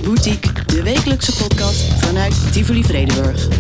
Boutique, de wekelijkse podcast vanuit Tivoli Vredenburg.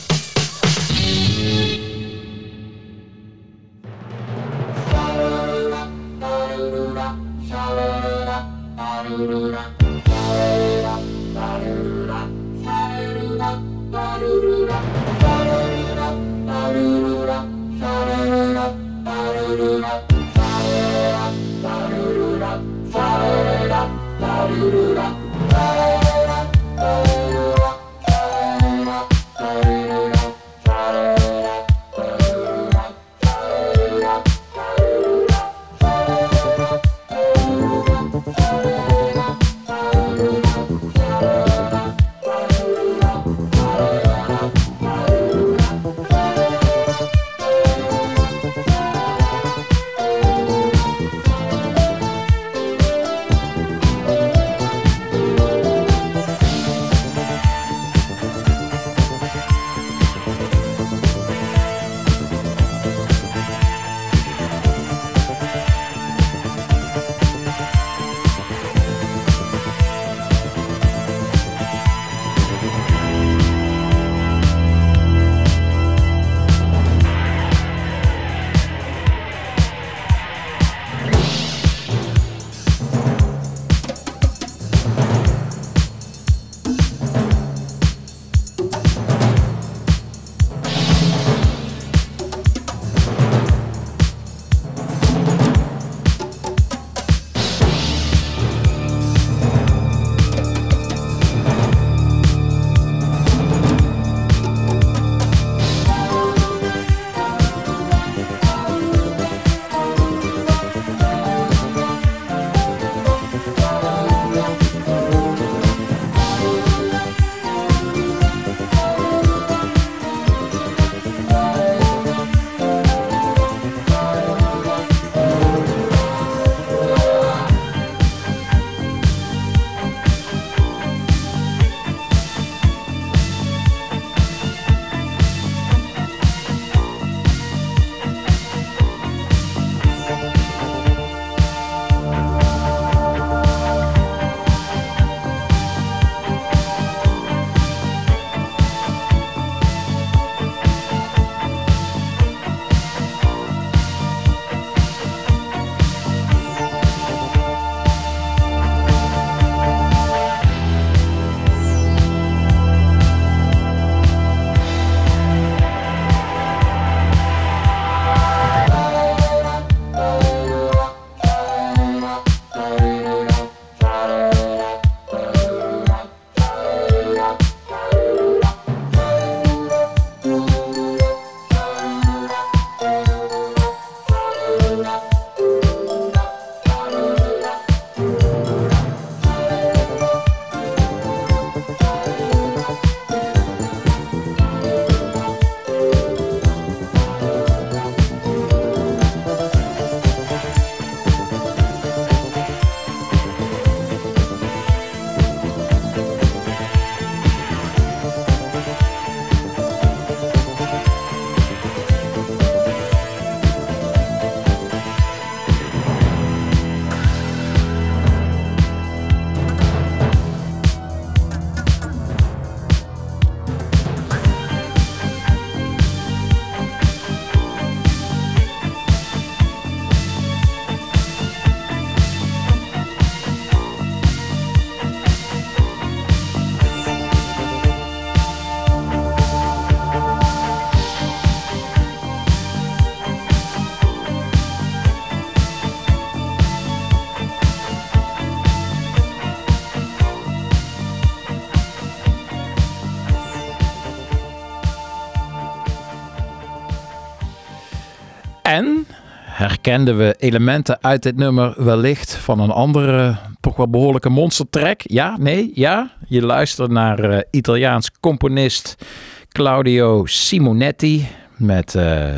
En herkenden we elementen uit dit nummer wellicht van een andere, toch wel behoorlijke monstertrack? Ja, nee, ja? Je luistert naar Italiaans componist Claudio Simonetti met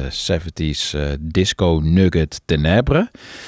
70s disco nugget Tenebre.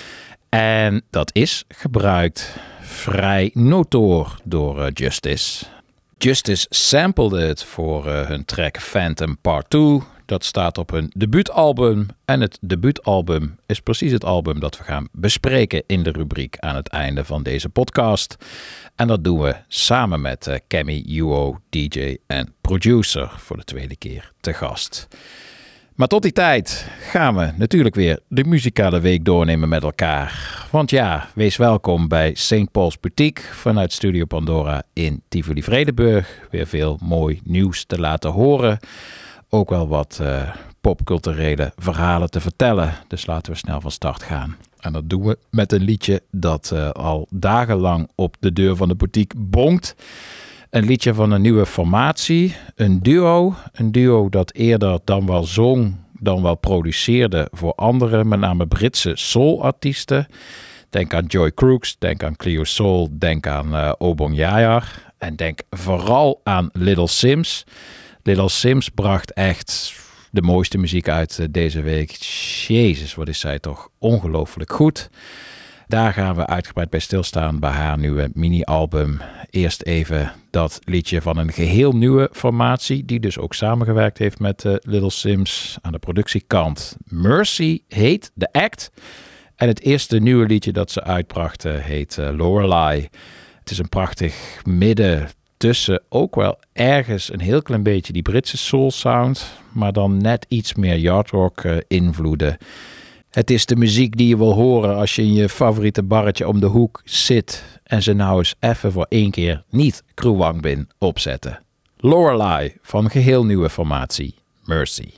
En dat is gebruikt vrij notoor door Justice. Justice samplede het voor hun track Phantom Part 2. Dat staat op hun debuutalbum. En het debuutalbum is precies het album dat we gaan bespreken in de rubriek aan het einde van deze podcast. En dat doen we samen met Cammy Uo, DJ en producer, voor de tweede keer te gast. Maar tot die tijd gaan we natuurlijk weer de muzikale week doornemen met elkaar. Want ja, wees welkom bij St. Paul's Boutique vanuit Studio Pandora in Tivoli-Vredenburg. Weer veel mooi nieuws te laten horen. Ook wel wat popculturele verhalen te vertellen. Dus laten we snel van start gaan. En dat doen we met een liedje dat al dagenlang op de deur van de boutique bonkt. Een liedje van een nieuwe formatie, een duo. Een duo dat eerder dan wel zong, dan wel produceerde voor andere, met name Britse soulartiesten. Denk aan Joy Crooks, denk aan Cleo Soul, denk aan Obong Yayar. En denk vooral aan Little Simz. Little Simz bracht echt de mooiste muziek uit deze week. Jezus, wat is zij toch ongelooflijk goed. Daar gaan we uitgebreid bij stilstaan bij haar nieuwe mini-album. Eerst even dat liedje van een geheel nieuwe formatie, die dus ook samengewerkt heeft met Little Simz aan de productiekant. Mercy heet The Act. En het eerste nieuwe liedje dat ze uitbracht heet Lorelei. Het is een prachtig midden tussen ook wel ergens een heel klein beetje die Britse soul sound, maar dan net iets meer yardrock invloeden. Het is de muziek die je wil horen als je in je favoriete barretje om de hoek zit en ze nou eens even voor één keer niet Kruwangbin opzetten. Lorelei van geheel nieuwe formatie Mercy.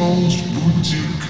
Boutique.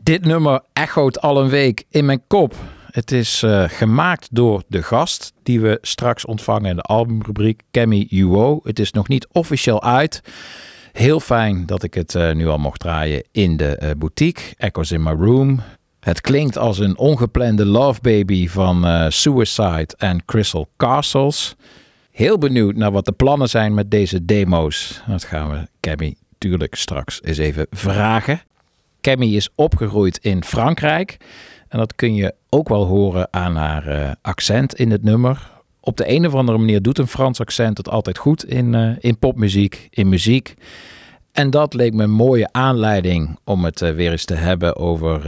Dit nummer echoot al een week in mijn kop. Het is gemaakt door de gast die we straks ontvangen in de albumrubriek, Cammy Uo. Het is nog niet officieel uit. Heel fijn dat ik het nu al mocht draaien in de boutique. Echoes in My Room. Het klinkt als een ongeplande love baby van Suicide en Crystal Castles. Heel benieuwd naar wat de plannen zijn met deze demo's. Dat gaan we Cammy natuurlijk straks eens even vragen. Cammy is opgegroeid in Frankrijk. En dat kun je ook wel horen aan haar accent in het nummer. Op de een of andere manier doet een Frans accent het altijd goed in popmuziek, in muziek. En dat leek me een mooie aanleiding om het weer eens te hebben over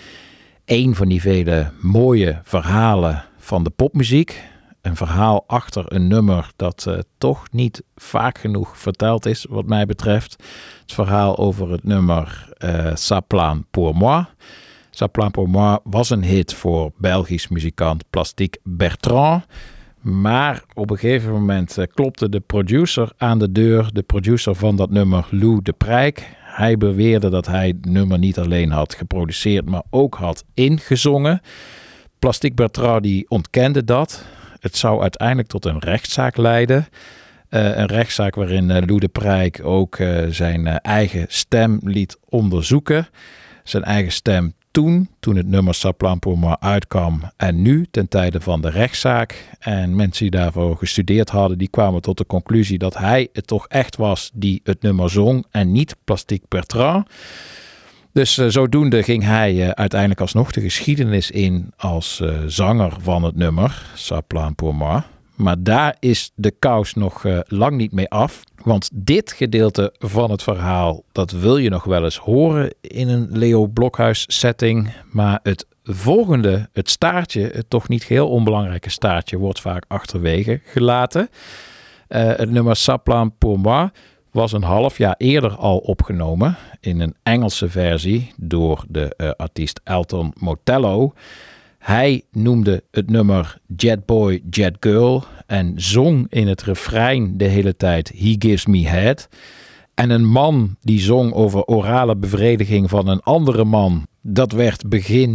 een van die vele mooie verhalen van de popmuziek. Een verhaal achter een nummer dat toch niet vaak genoeg verteld is wat mij betreft. Het verhaal over het nummer Ça plane pour moi. Ça plane pour moi was een hit voor Belgisch muzikant Plastique Bertrand. Maar op een gegeven moment klopte de producer aan de deur. De producer van dat nummer, Lou de Prijk. Hij beweerde dat hij het nummer niet alleen had geproduceerd, maar ook had ingezongen. Plastique Bertrand die ontkende dat. Het zou uiteindelijk tot een rechtszaak leiden. Een rechtszaak waarin Lou de Prijk ook zijn eigen stem liet onderzoeken. Zijn eigen stem toen het nummer Ça plane pour moi uitkwam en nu ten tijde van de rechtszaak. En mensen die daarvoor gestudeerd hadden, die kwamen tot de conclusie dat hij het toch echt was die het nummer zong en niet Plastique Bertrand. Dus zodoende ging hij uiteindelijk alsnog de geschiedenis in als zanger van het nummer Ça plane pour moi. Maar daar is de kous nog lang niet mee af. Want dit gedeelte van het verhaal, dat wil je nog wel eens horen in een Leo Blokhuis setting. Maar het volgende, het staartje, het toch niet heel onbelangrijke staartje, wordt vaak achterwege gelaten. Het nummer Ça plane pour moi was een half jaar eerder al opgenomen in een Engelse versie door de artiest Elton Motello. Hij noemde het nummer Jet Boy, Jet Girl en zong in het refrein de hele tijd He Gives Me Head. En een man die zong over orale bevrediging van een andere man, dat werd begin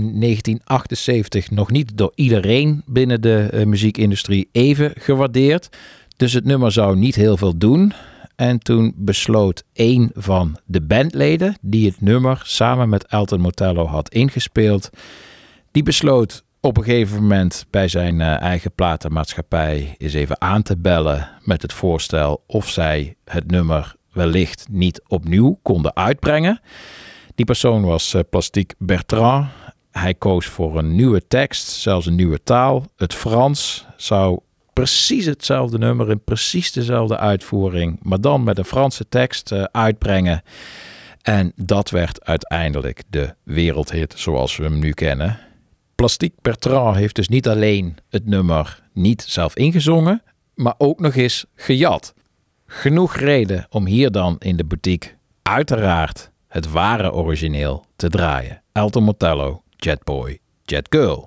1978 nog niet door iedereen binnen de muziekindustrie even gewaardeerd. Dus het nummer zou niet heel veel doen. En toen besloot een van de bandleden die het nummer samen met Elton Motello had ingespeeld, die besloot op een gegeven moment bij zijn eigen platenmaatschappij eens even aan te bellen met het voorstel of zij het nummer wellicht niet opnieuw konden uitbrengen. Die persoon was Plastique Bertrand. Hij koos voor een nieuwe tekst, zelfs een nieuwe taal. Het Frans zou precies hetzelfde nummer in precies dezelfde uitvoering, maar dan met een Franse tekst uitbrengen. En dat werd uiteindelijk de wereldhit zoals we hem nu kennen. Plastique Bertrand heeft dus niet alleen het nummer niet zelf ingezongen, maar ook nog eens gejat. Genoeg reden om hier dan in de boutique uiteraard het ware origineel te draaien. Elton Motello, Jet Boy, Jet Girl.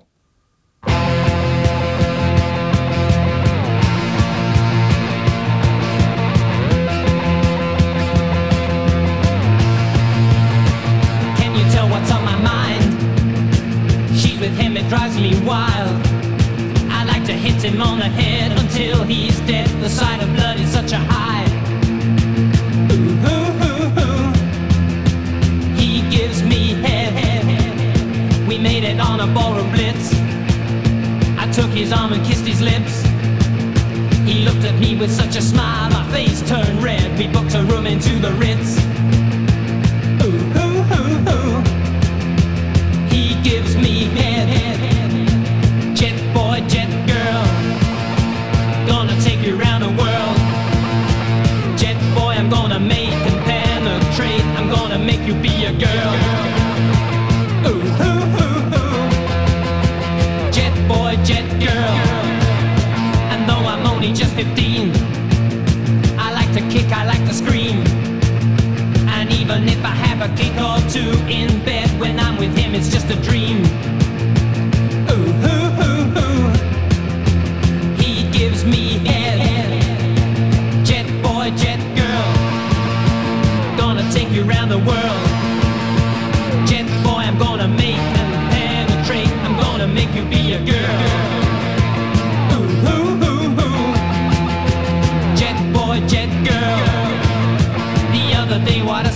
With him it drives me wild. I like to hit him on the head until he's dead. The sight of blood is such a high. Ooh, ooh, ooh, ooh. He gives me head. We made it on a ballroom blitz. I took his arm and kissed his lips. He looked at me with such a smile, my face turned red. We booked a room into the Ritz. Ooh, ooh, ooh, ooh. He gives me head. Jet boy, jet girl, gonna take you around the world. Jet boy, I'm gonna make and penetrate. I'm gonna make you be a girl. Ooh, ooh, ooh, ooh. Jet boy, jet girl. And though I'm only just 15, I like to kick, I like to scream. And even if I have a kick or two in bed, when I'm with him it's just a dream. Ooh, ooh, ooh, ooh. He gives me head. Jet boy, jet girl, gonna take you around the world. Jet boy, I'm gonna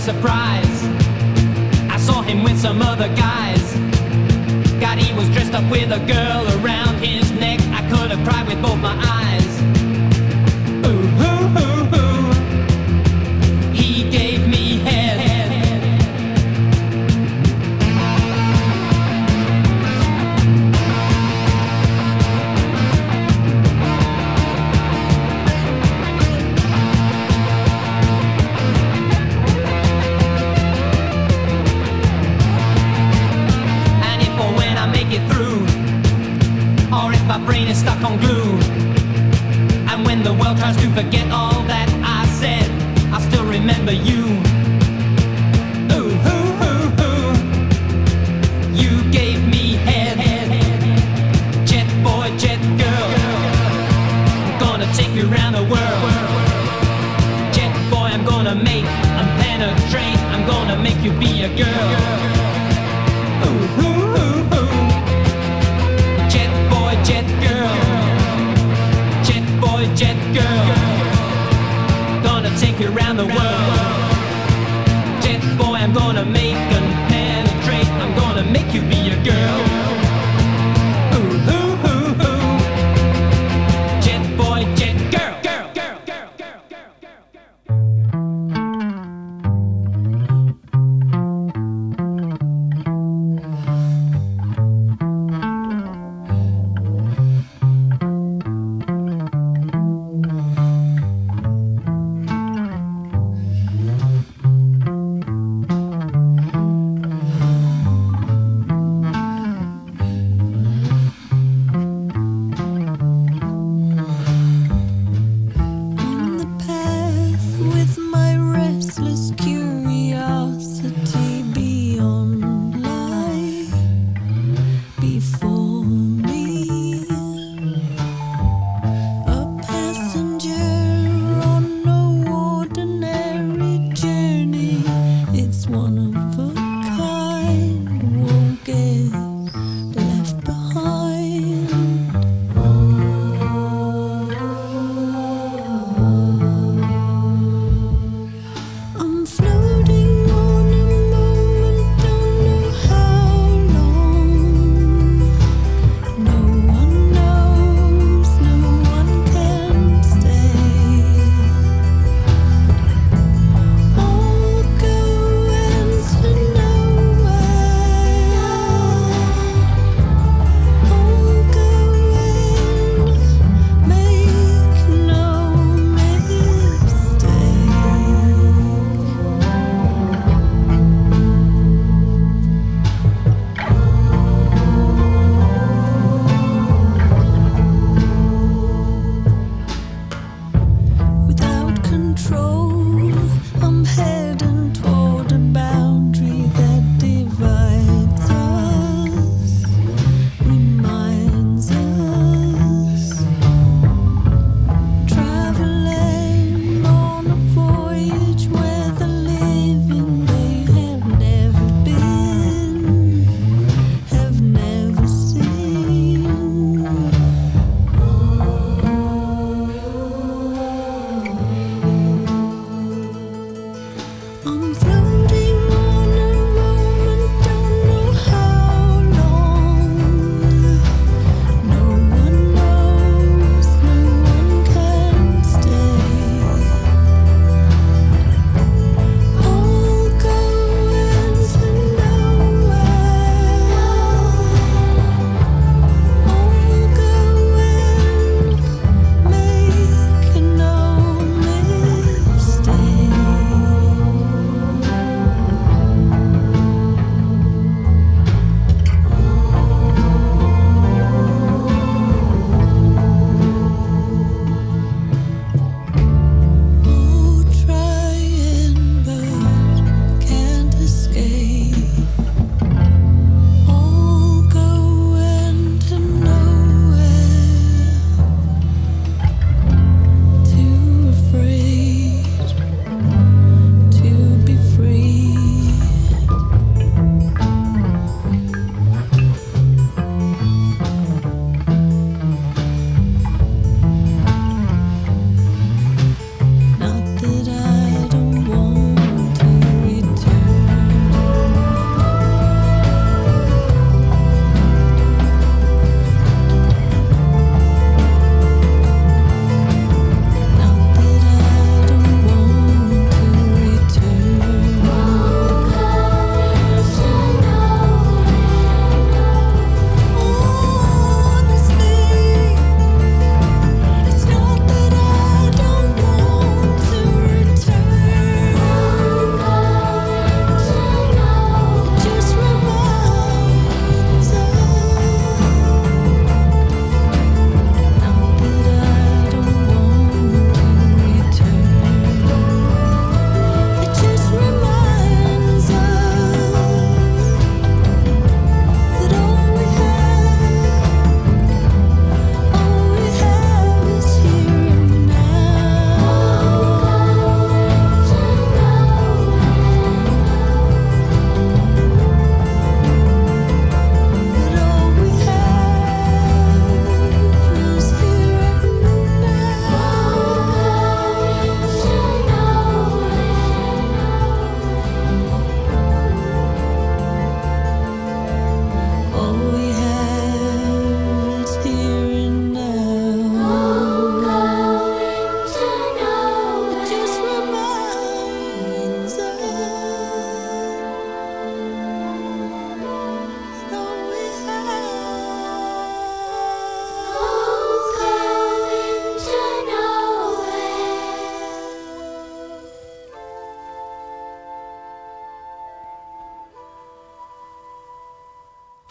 surprise. I saw him with some other guys. God, he was dressed up with a girl around his neck. I could have cried with both my eyes. Ooh, ooh, ooh, ooh. He gave me head. My brain is stuck on glue, and when the world tries to forget all that I said, I still remember you. Ooh, ooh, ooh, ooh. You gave me head. Jet boy, jet girl, I'm gonna take you around the world. Jet boy, I'm gonna make and penetrate. I'm gonna make you be a girl. Ooh, ooh, ooh, ooh. Jet girl, jet boy, jet girl, gonna take you around the world. Jet boy, I'm gonna make and penetrate. I'm gonna make you be a girl. Ooh, ooh, ooh, ooh. Jet boy, jet girl, girl, girl, girl, girl, girl, girl.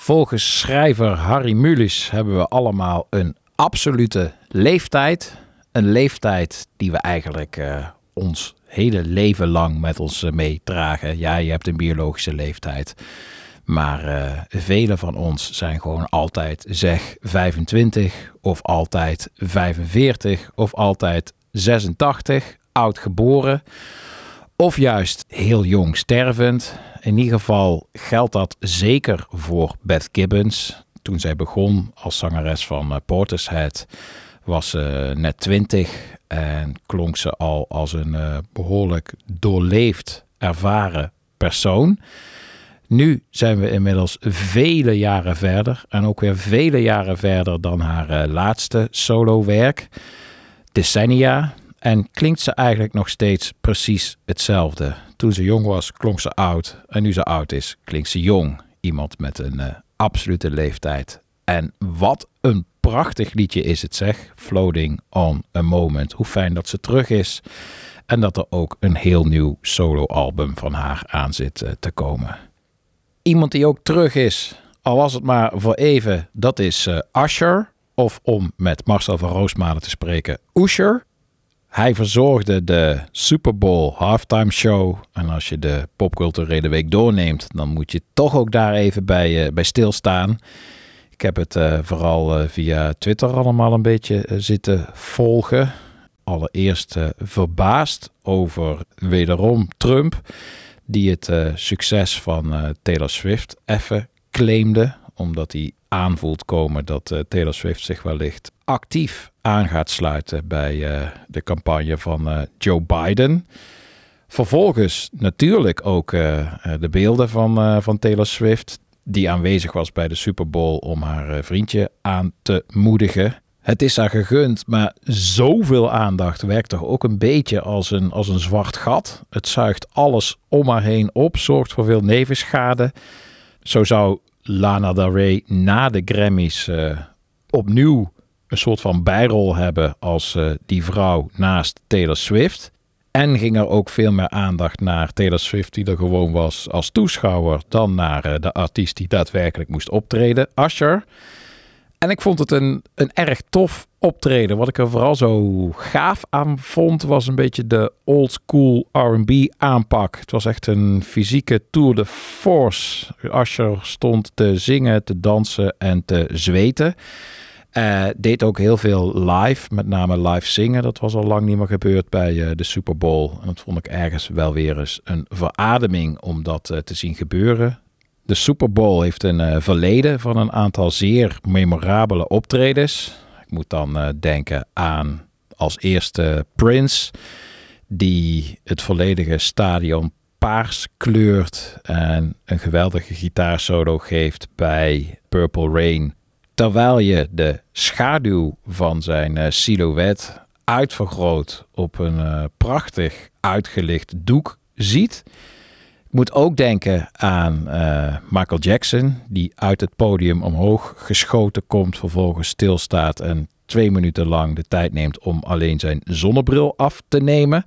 Volgens schrijver Harry Mulisch hebben we allemaal een absolute leeftijd. Een leeftijd die we eigenlijk ons hele leven lang met ons meedragen. Ja, je hebt een biologische leeftijd. Maar velen van ons zijn gewoon altijd 25 of altijd 45 of altijd 86, oud geboren. Of juist heel jong stervend. In ieder geval geldt dat zeker voor Beth Gibbons. Toen zij begon als zangeres van Portishead was ze net 20 en klonk ze al als een behoorlijk doorleefd, ervaren persoon. Nu zijn we inmiddels vele jaren verder en ook weer vele jaren verder dan haar laatste solowerk, Decennia. En klinkt ze eigenlijk nog steeds precies hetzelfde. Toen ze jong was, klonk ze oud. En nu ze oud is, klinkt ze jong. Iemand met een absolute leeftijd. En wat een prachtig liedje is het, zeg. Floating on a Moment. Hoe fijn dat ze terug is. En dat er ook een heel nieuw soloalbum van haar aan zit te komen. Iemand die ook terug is, al was het maar voor even, dat is Usher. Of om met Marcel van Roosmalen te spreken, Usher. Hij verzorgde de Super Bowl halftime show. En als je de popculturele week doorneemt, dan moet je toch ook daar even bij stilstaan. Ik heb het vooral via Twitter allemaal een beetje zitten volgen. Allereerst verbaasd over wederom Trump, die het succes van Taylor Swift even claimde. Omdat hij aanvoelt komen dat Taylor Swift zich wellicht actief aan gaat sluiten bij de campagne van Joe Biden. Vervolgens natuurlijk ook de beelden van Taylor Swift, die aanwezig was bij de Super Bowl om haar vriendje aan te moedigen. Het is haar gegund, maar zoveel aandacht werkt toch ook een beetje als een zwart gat. Het zuigt alles om haar heen op, zorgt voor veel nevenschade. Zo zou Lana Del Rey na de Grammys opnieuw een soort van bijrol hebben als die vrouw naast Taylor Swift. En ging er ook veel meer aandacht naar Taylor Swift, die er gewoon was als toeschouwer, dan naar de artiest die daadwerkelijk moest optreden, Usher. En ik vond het een erg tof optreden. Wat ik er vooral zo gaaf aan vond, was een beetje de old school R&B aanpak. Het was echt een fysieke tour de force. Usher stond te zingen, te dansen en te zweten. Deed ook heel veel live, met name live zingen. Dat was al lang niet meer gebeurd bij de Super Bowl. En dat vond ik ergens wel weer eens een verademing om dat te zien gebeuren. De Super Bowl heeft een verleden van een aantal zeer memorabele optredens. Ik moet dan denken aan als eerste Prince, die het volledige stadion paars kleurt en een geweldige gitaarsolo geeft bij Purple Rain. Terwijl je de schaduw van zijn silhouet uitvergroot op een prachtig uitgelicht doek ziet. Ik moet ook denken aan Michael Jackson, die uit het podium omhoog geschoten komt, vervolgens stilstaat en 2 minuten lang de tijd neemt om alleen zijn zonnebril af te nemen.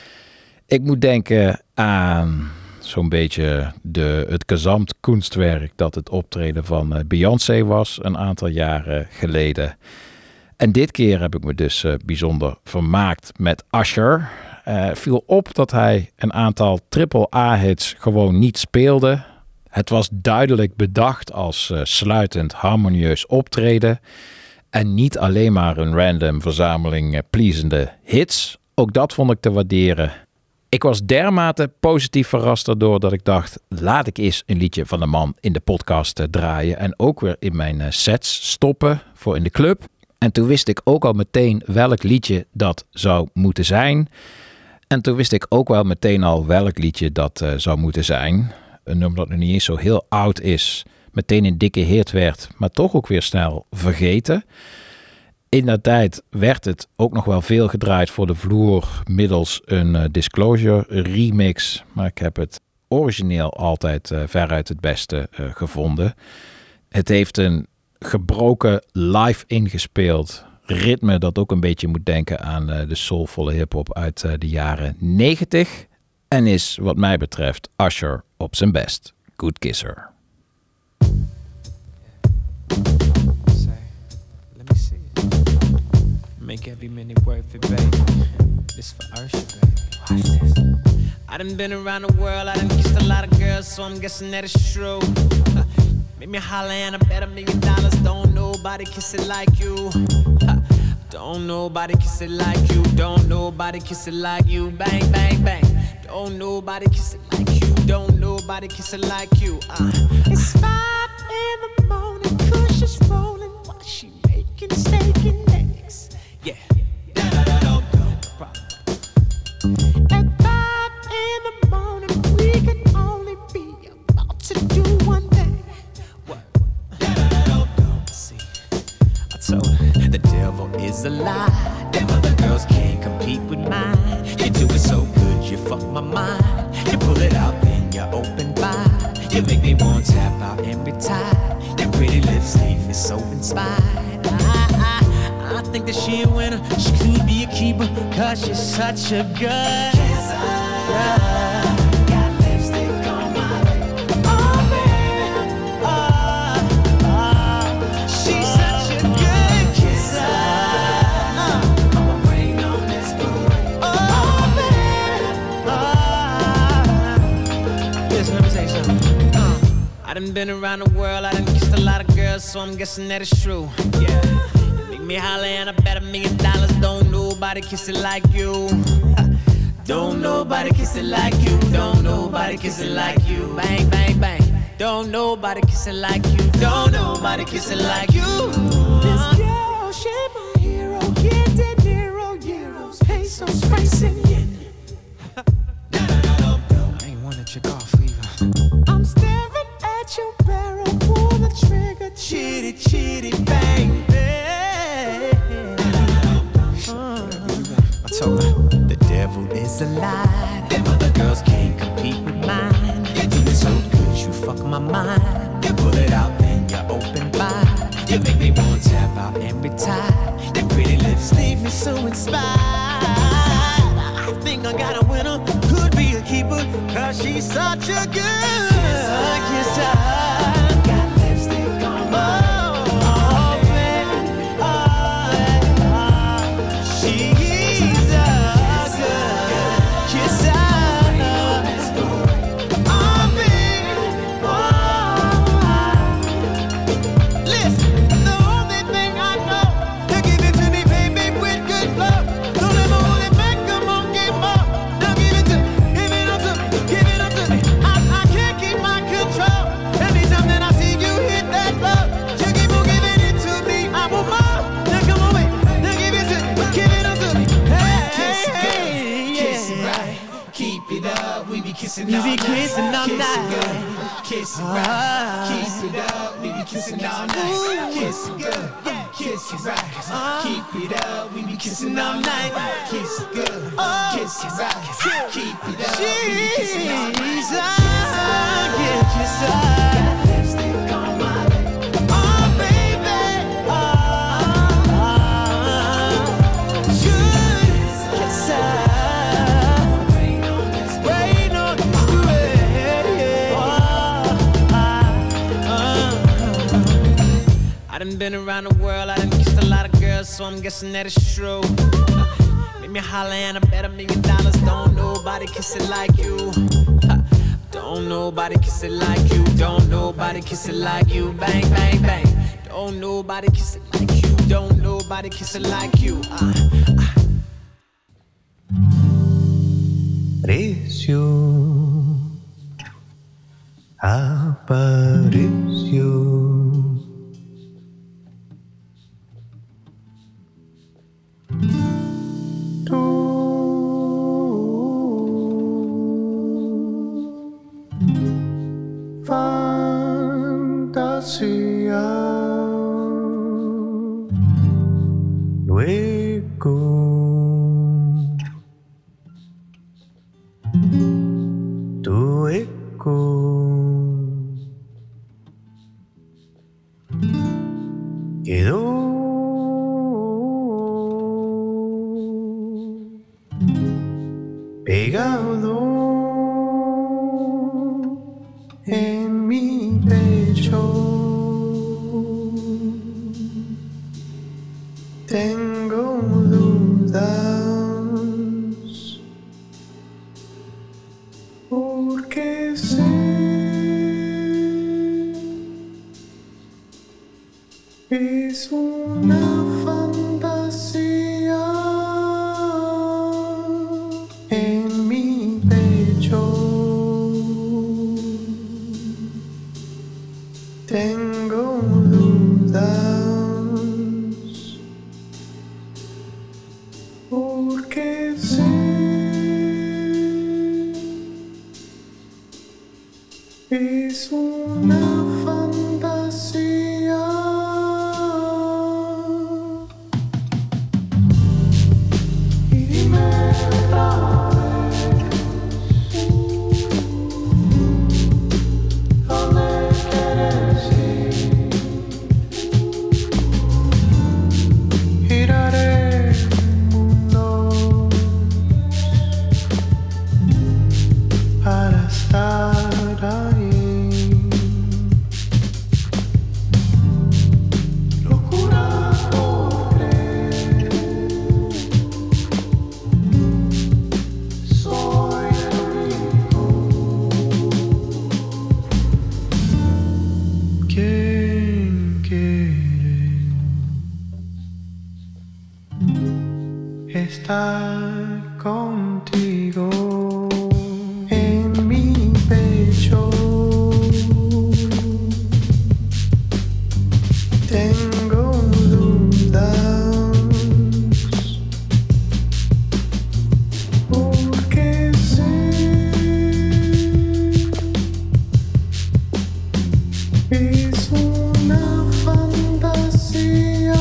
Ik moet denken aan zo'n beetje het Gesamtkunstwerk dat het optreden van Beyoncé was een aantal jaren geleden. En dit keer heb ik me dus bijzonder vermaakt met Usher. Viel op dat hij een aantal AAA-hits gewoon niet speelde. Het was duidelijk bedacht als sluitend harmonieus optreden. En niet alleen maar een random verzameling pleasende hits. Ook dat vond ik te waarderen. Ik was dermate positief verrast erdoor dat ik dacht, laat ik eens een liedje van de man in de podcast draaien. En ook weer in mijn sets stoppen voor in de club. En toen wist ik ook al meteen welk liedje dat zou moeten zijn. En toen wist ik ook wel meteen al welk liedje dat zou moeten zijn. Een nummer dat nog niet eens zo heel oud is. Meteen een dikke hit werd, maar toch ook weer snel vergeten. In dat tijd werd het ook nog wel veel gedraaid voor de vloer middels een Disclosure remix. Maar ik heb het origineel altijd veruit het beste gevonden. Het heeft een gebroken live ingespeeld ritme dat ook een beetje moet denken aan de soulvolle hiphop uit de jaren 90. En is wat mij betreft Usher op zijn best. Good Kisser. Make every minute worth it, baby. This for Usher, baby. Watch this. I done been around the world, I done kissed a lot of girls, so I'm guessing that it's true. Make me holler and I bet $1 million. Don't nobody kiss it like you. Don't nobody kiss it like you. Don't nobody kiss it like you. Bang, bang, bang. Don't nobody kiss it like you. Don't nobody kiss it like you. It's 5 in the morning, Kush is rolling while she making steak and eggs. Yeah. At 5 in the morning, we can only be about to do one thing. What? See, I told her the devil is a lie. Them other girls can't compete with mine. You do it so good, you fuck my mind. You pull it out, then you open wide. You make me want to tap out and retire. Your pretty lips leave me so inspired. I think that she a winner. She could be a keeper, cause she's such a good kisser. Got lipstick on my lip. Oh, baby. She's such a good kisser. I'ma rain on this food. Oh, baby. Listen, let me tell you something. I done been around the world, I done kissed a lot of girls, so I'm guessing that it's true. Yeah. Me holler and I bet $1 million. Don't nobody kiss it like you. Don't nobody kiss it like you. Don't nobody kiss it like you. Bang, bang, bang. Don't nobody kiss it like you. Don't nobody kiss it like you. This girl, she my hero. Get De Niro, euros, pesos, francs, and yen. I ain't wanna check off either. I'm staring at your barrel. Pull the trigger. Chitty, chitty, bang, bang. I told her the devil is a lie. Them other girls can't compete with mine. You do it so good, you fuck my mind. You pull it out, then you open wide. You make me want to tap out and retire. Your pretty lips leave me so inspired. I think I got a winner, could be a keeper, cause she's such a good kisser. Got lipstick on my kissing all night. Kissing all night. Kiss it right. Keep it up. We be kissing all night. Kiss it good. Kiss it right. Keep it up. We be kissing all night. Kiss it good. Kiss it right. Keep it up. We be kissing all night. Kiss it right. Got lipstick on my lip. Oh, baby. Good kisser. I done been around the world, I done kissed a lot of girls, so I'm guessing that it's true. Make me holler and I bet $1 million. Don't nobody kiss it like you. Don't nobody kiss it like you. Don't nobody kiss it like you. Bang, bang, bang. Don't nobody kiss it like you. Don't nobody kiss it like you. Apareció, apareció. Fantasía. Luego tu eco quedó pegado en mi pecho. Tengo es una fantasía. Y dime otra vez, ¿dónde quieres ir? Giraré el mundo para estar ahí. Locura por creer, soy el único. ¿Quién quiere estar contigo? En mi pecho tengo dudas, porque sé es una fantasía.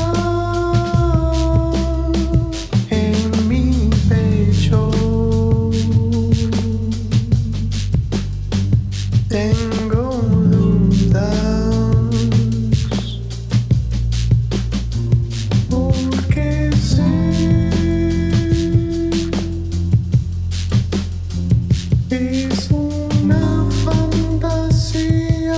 En mi pecho tengo dudas, porque sé es una fantasía.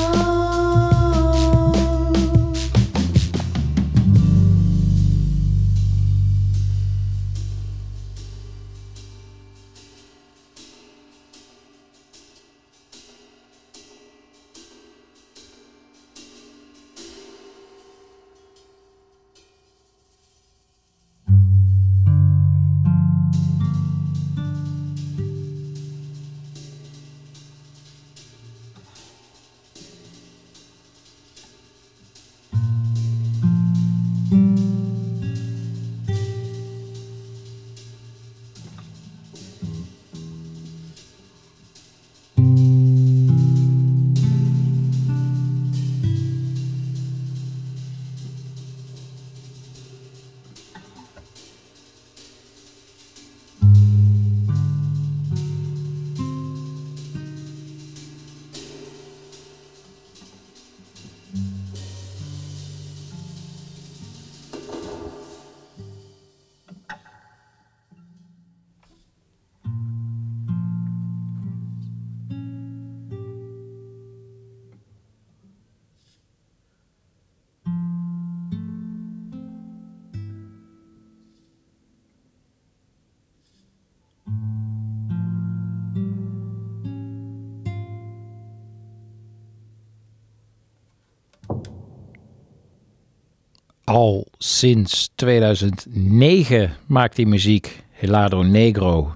Al sinds 2009 maakt hij muziek. Helado Negro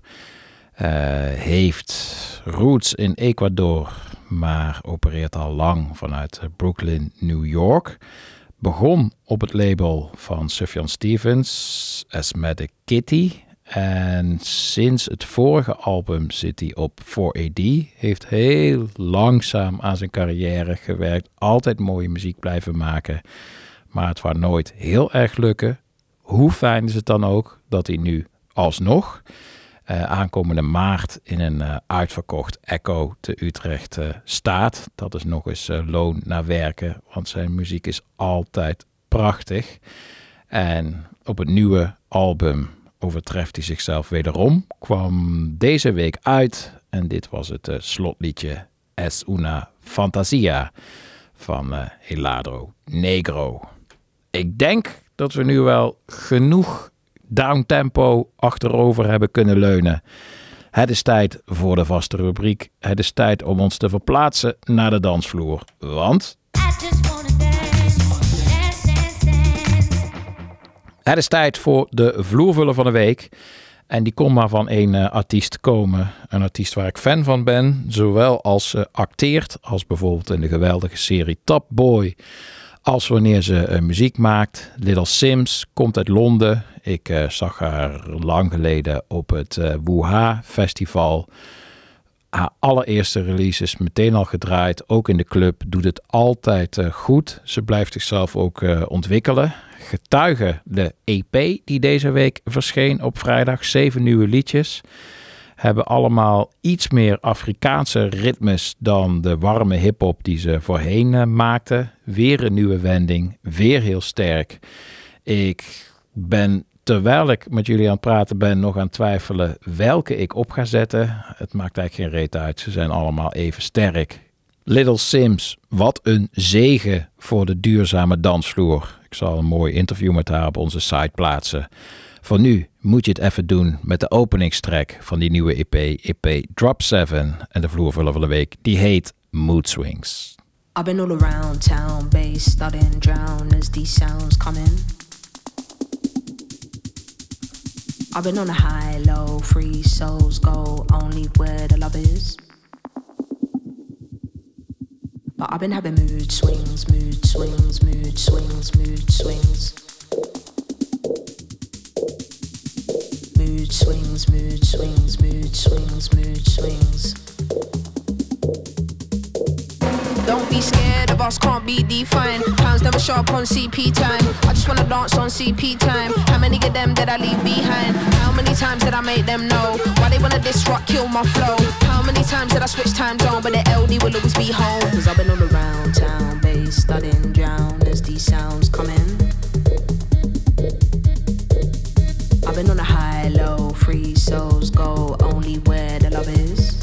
heeft roots in Ecuador, maar opereert al lang vanuit Brooklyn, New York. Begon op het label van Sufjan Stevens, Asthmatic Kitty. En sinds het vorige album zit hij op 4AD. Heeft heel langzaam aan zijn carrière gewerkt. Altijd mooie muziek blijven maken. Maar het was nooit heel erg lukken. Hoe fijn is het dan ook dat hij nu alsnog aankomende maart in een uitverkocht Echo te Utrecht staat. Dat is nog eens loon naar werken, want zijn muziek is altijd prachtig. En op het nieuwe album overtreft hij zichzelf wederom. Kwam deze week uit en dit was het slotliedje Es una fantasia van Helado Negro. Ik denk dat we nu wel genoeg downtempo achterover hebben kunnen leunen. Het is tijd voor de vaste rubriek. Het is tijd om ons te verplaatsen naar de dansvloer. Want het is tijd voor de vloervuller van de week. En die kon maar van één artiest komen. Een artiest waar ik fan van ben. Zowel als ze acteert, als bijvoorbeeld in de geweldige serie Top Boy. Als wanneer ze muziek maakt. Little Sims komt uit Londen. Ik zag haar lang geleden op het Wuha Festival. Haar allereerste release is meteen al gedraaid. Ook in de club doet het altijd goed. Ze blijft zichzelf ook ontwikkelen. Getuige de EP die deze week verscheen op vrijdag. 7 nieuwe liedjes. Hebben allemaal iets meer Afrikaanse ritmes dan de warme hiphop die ze voorheen maakte. Weer een nieuwe wending. Weer heel sterk. Ik ben, terwijl ik met jullie aan het praten ben, nog aan het twijfelen welke ik op ga zetten. Het maakt eigenlijk geen reet uit. Ze zijn allemaal even sterk. Little Simz, wat een zegen voor de duurzame dansvloer. Ik zal een mooi interview met haar op onze site plaatsen. Voor nu moet je het even doen met de openingstrack van die nieuwe EP Drop 7. En de vloervuller van de week, die heet Mood Swings. I've been all around town, bass studying, drown as these sounds come in. I've been on a high, low, free souls go only where the love is. But I've been having mood swings, mood swings, mood swings, mood swings. Mood swings, mood swings, mood swings, mood swings. Don't be scared of us, can't be defined. Pounds never show up on CP time. I just wanna dance on CP time. How many of them did I leave behind? How many times did I make them know? Why they wanna disrupt, kill my flow? How many times did I switch time zone? But the LD will always be home. Cause I've been all around town, bass studying, drown as these sounds come in. I've been on a high, low, free souls go only where the love is.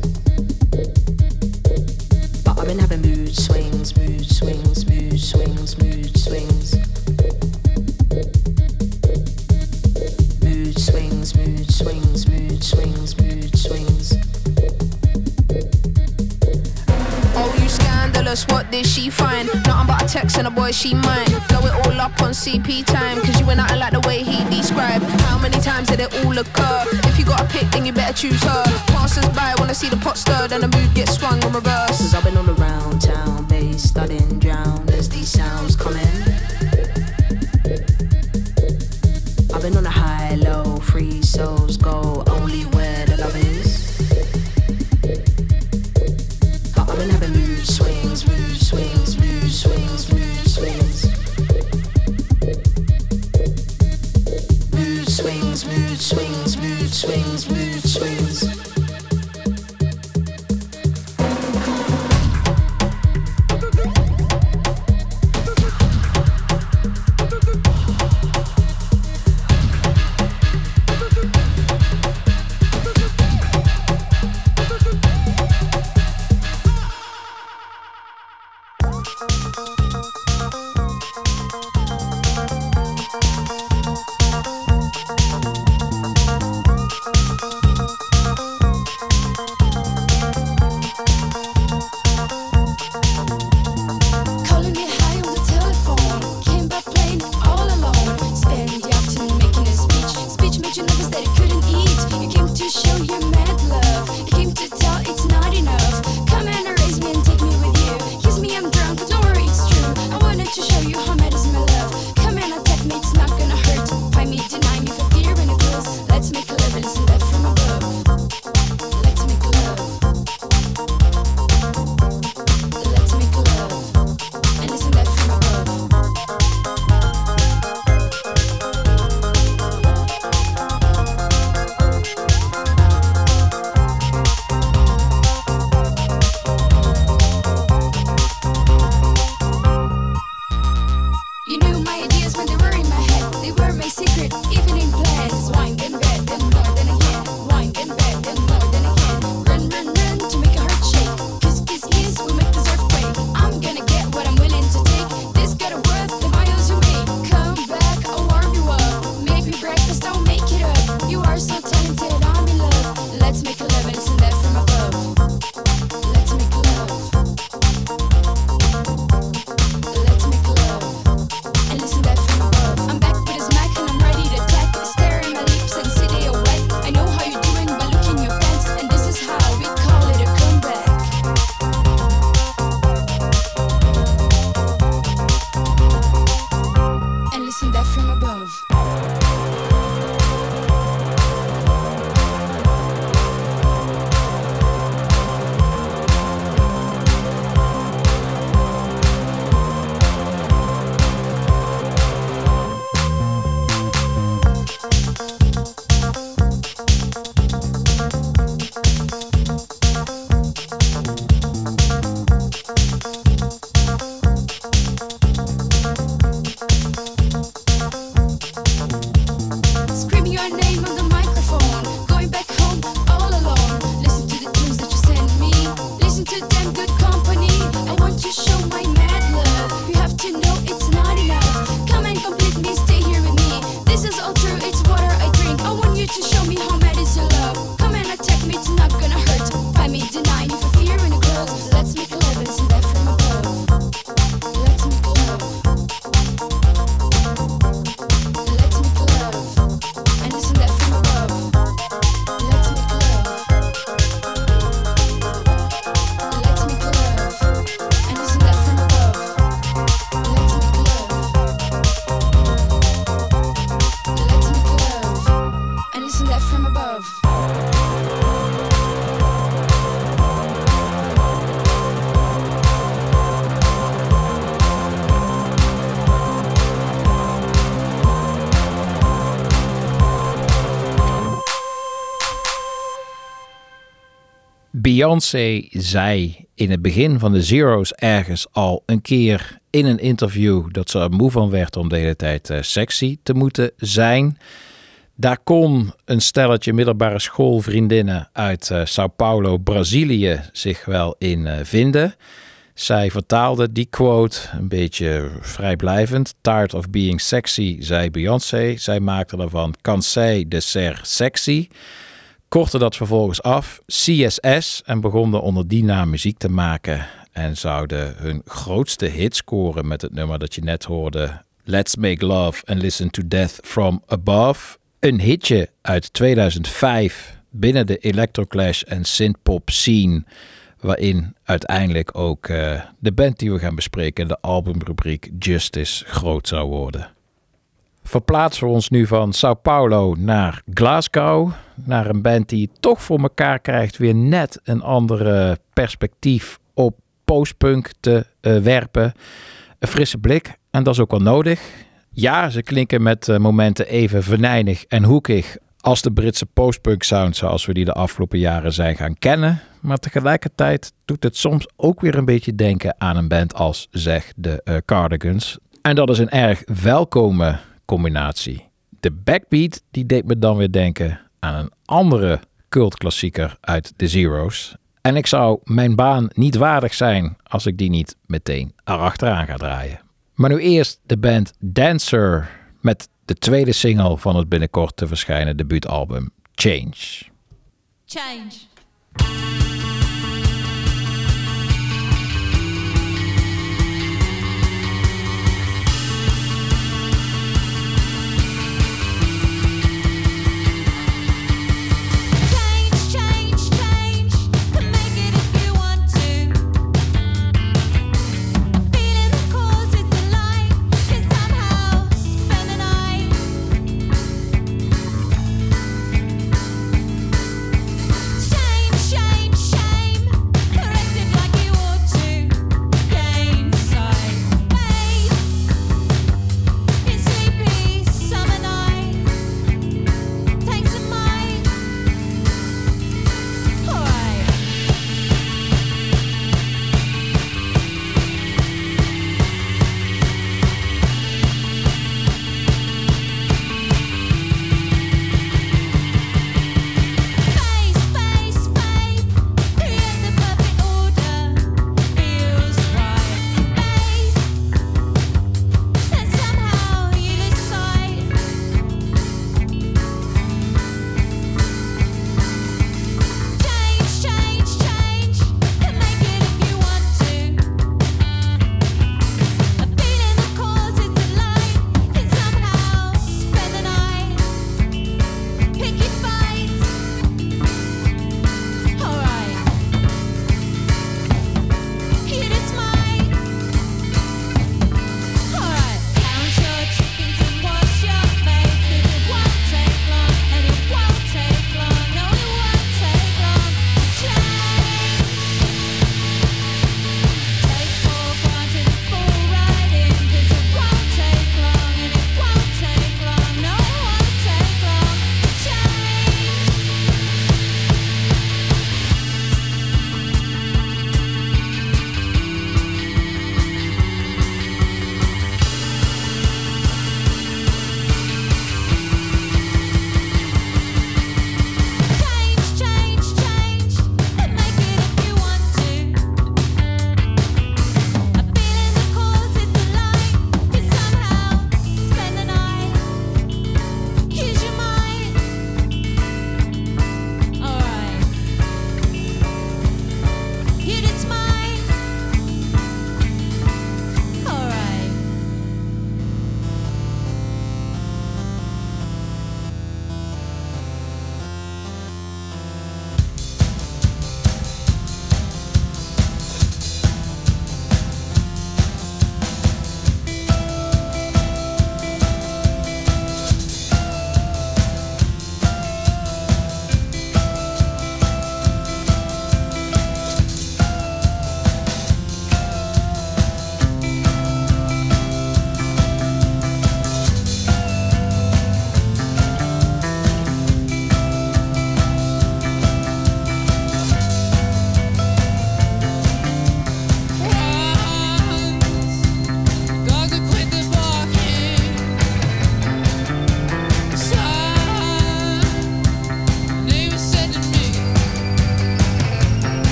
But I've been having mood swings, mood swings, mood swings, mood swings. Mood swings, mood swings, mood swings, mood swings. Oh, you scandalous, what did she find? Nothing but a text and a boy she mine. Blow it all up on CP time, cause you ain't nothing like the way he described. How many times did it all occur? If you got a pick, then you better choose her. Passers by wanna see the pot stirred and the mood gets swung in reverse. Cause I've been all around town, bass studying, drown as these sounds come in. I've been on a high, low, free souls go only where the love is. But I've been having mood swings, mood swings, mood swings, mood swings. Mood swings, mood swings, mood swings, mood swings. left from above. Beyoncé zei in het begin van de Zero's ergens al een keer in een interview dat ze er moe van werd om de hele tijd sexy te moeten zijn. Daar kon een stelletje middelbare schoolvriendinnen uit Sao Paulo, Brazilië zich wel in vinden. Zij vertaalde die quote een beetje vrijblijvend. Tired of being sexy, zei Beyoncé. Zij maakte ervan Cansé de ser sexy. Kortte dat vervolgens af, CSS, en begonnen onder die naam muziek te maken. En zouden hun grootste hit scoren met het nummer dat je net hoorde, Let's Make Love and Listen to Death from Above. Een hitje uit 2005 binnen de electroclash en synthpop scene, waarin uiteindelijk ook de band die we gaan bespreken, de albumrubriek Justice, groot zou worden. Verplaatsen we ons nu van Sao Paulo naar Glasgow. Naar een band die toch voor elkaar krijgt weer net een andere perspectief op postpunk te werpen. Een frisse blik. En dat is ook wel nodig. Ja, ze klinken met momenten even venijnig en hoekig als de Britse postpunk sound zoals we die de afgelopen jaren zijn gaan kennen. Maar tegelijkertijd doet het soms ook weer een beetje denken aan een band als zeg de Cardigans. En dat is een erg welkome combinatie. De backbeat die deed me dan weer denken aan een andere cultklassieker uit de Zero's. En ik zou mijn baan niet waardig zijn als ik die niet meteen erachteraan ga draaien. Maar nu eerst de band Dancer met de tweede single van het binnenkort te verschijnen debuutalbum Change. Change. Change.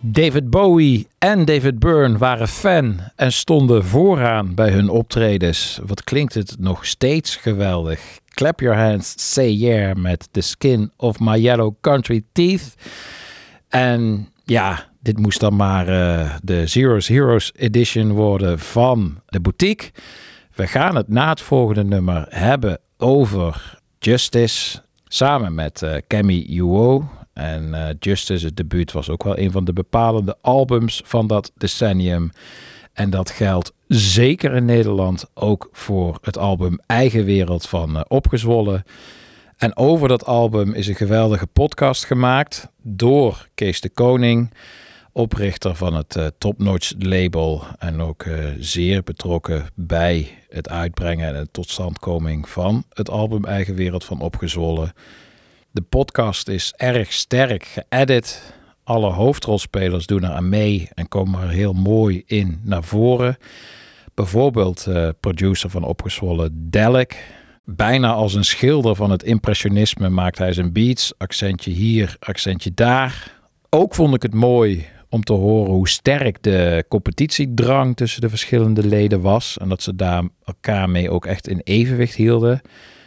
David Bowie en David Byrne waren fan en stonden vooraan bij hun optredens. Wat klinkt het nog steeds geweldig. Clap Your Hands, Say Yeah met The Skin of My Yellow Country Teeth. En ja, dit moest dan maar de Zero's Heroes Edition worden van de boutique. We gaan het na het volgende nummer hebben over Justice, samen met Cammy Uo. En Justice, het debuut, was ook wel een van de bepalende albums van dat decennium. En dat geldt zeker in Nederland ook voor het album Eigen Wereld van Opgezwollen. En over dat album is een geweldige podcast gemaakt door Kees de Koning, oprichter van het Top Notch label en ook zeer betrokken bij het uitbrengen en de totstandkoming van het album Eigen Wereld van Opgezwollen. De podcast is erg sterk geëdit. Alle hoofdrolspelers doen er aan mee en komen er heel mooi in naar voren. Bijvoorbeeld producer van Opgezwollen, Delek. Bijna als een schilder van het impressionisme maakt hij zijn beats. Accentje hier, accentje daar. Ook vond ik het mooi om te horen hoe sterk de competitiedrang tussen de verschillende leden was. En dat ze daar elkaar mee ook echt in evenwicht hielden.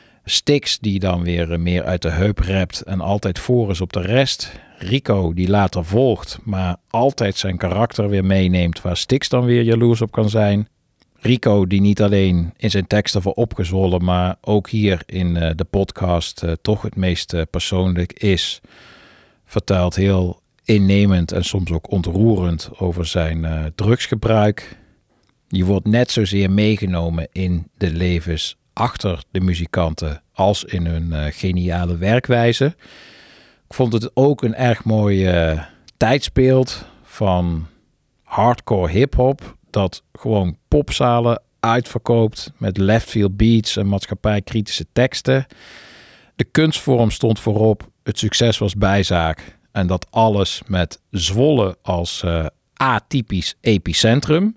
Styx die dan weer meer uit de heup rapt en altijd voor is op de rest. Rico die later volgt, maar altijd zijn karakter weer meeneemt waar Styx dan weer jaloers op kan zijn. Rico die niet alleen in zijn teksten voor Opgezwollen, maar ook hier in de podcast toch het meest persoonlijk is. Vertelt heel innemend en soms ook ontroerend over zijn drugsgebruik. Je wordt net zozeer meegenomen in de levens achter de muzikanten als in hun geniale werkwijze. Ik vond het ook een erg mooi tijdsbeeld van hardcore hip-hop dat gewoon popzalen uitverkoopt met leftfield beats en maatschappijkritische teksten. De kunstvorm stond voorop, het succes was bijzaak en dat alles met Zwolle als atypisch epicentrum.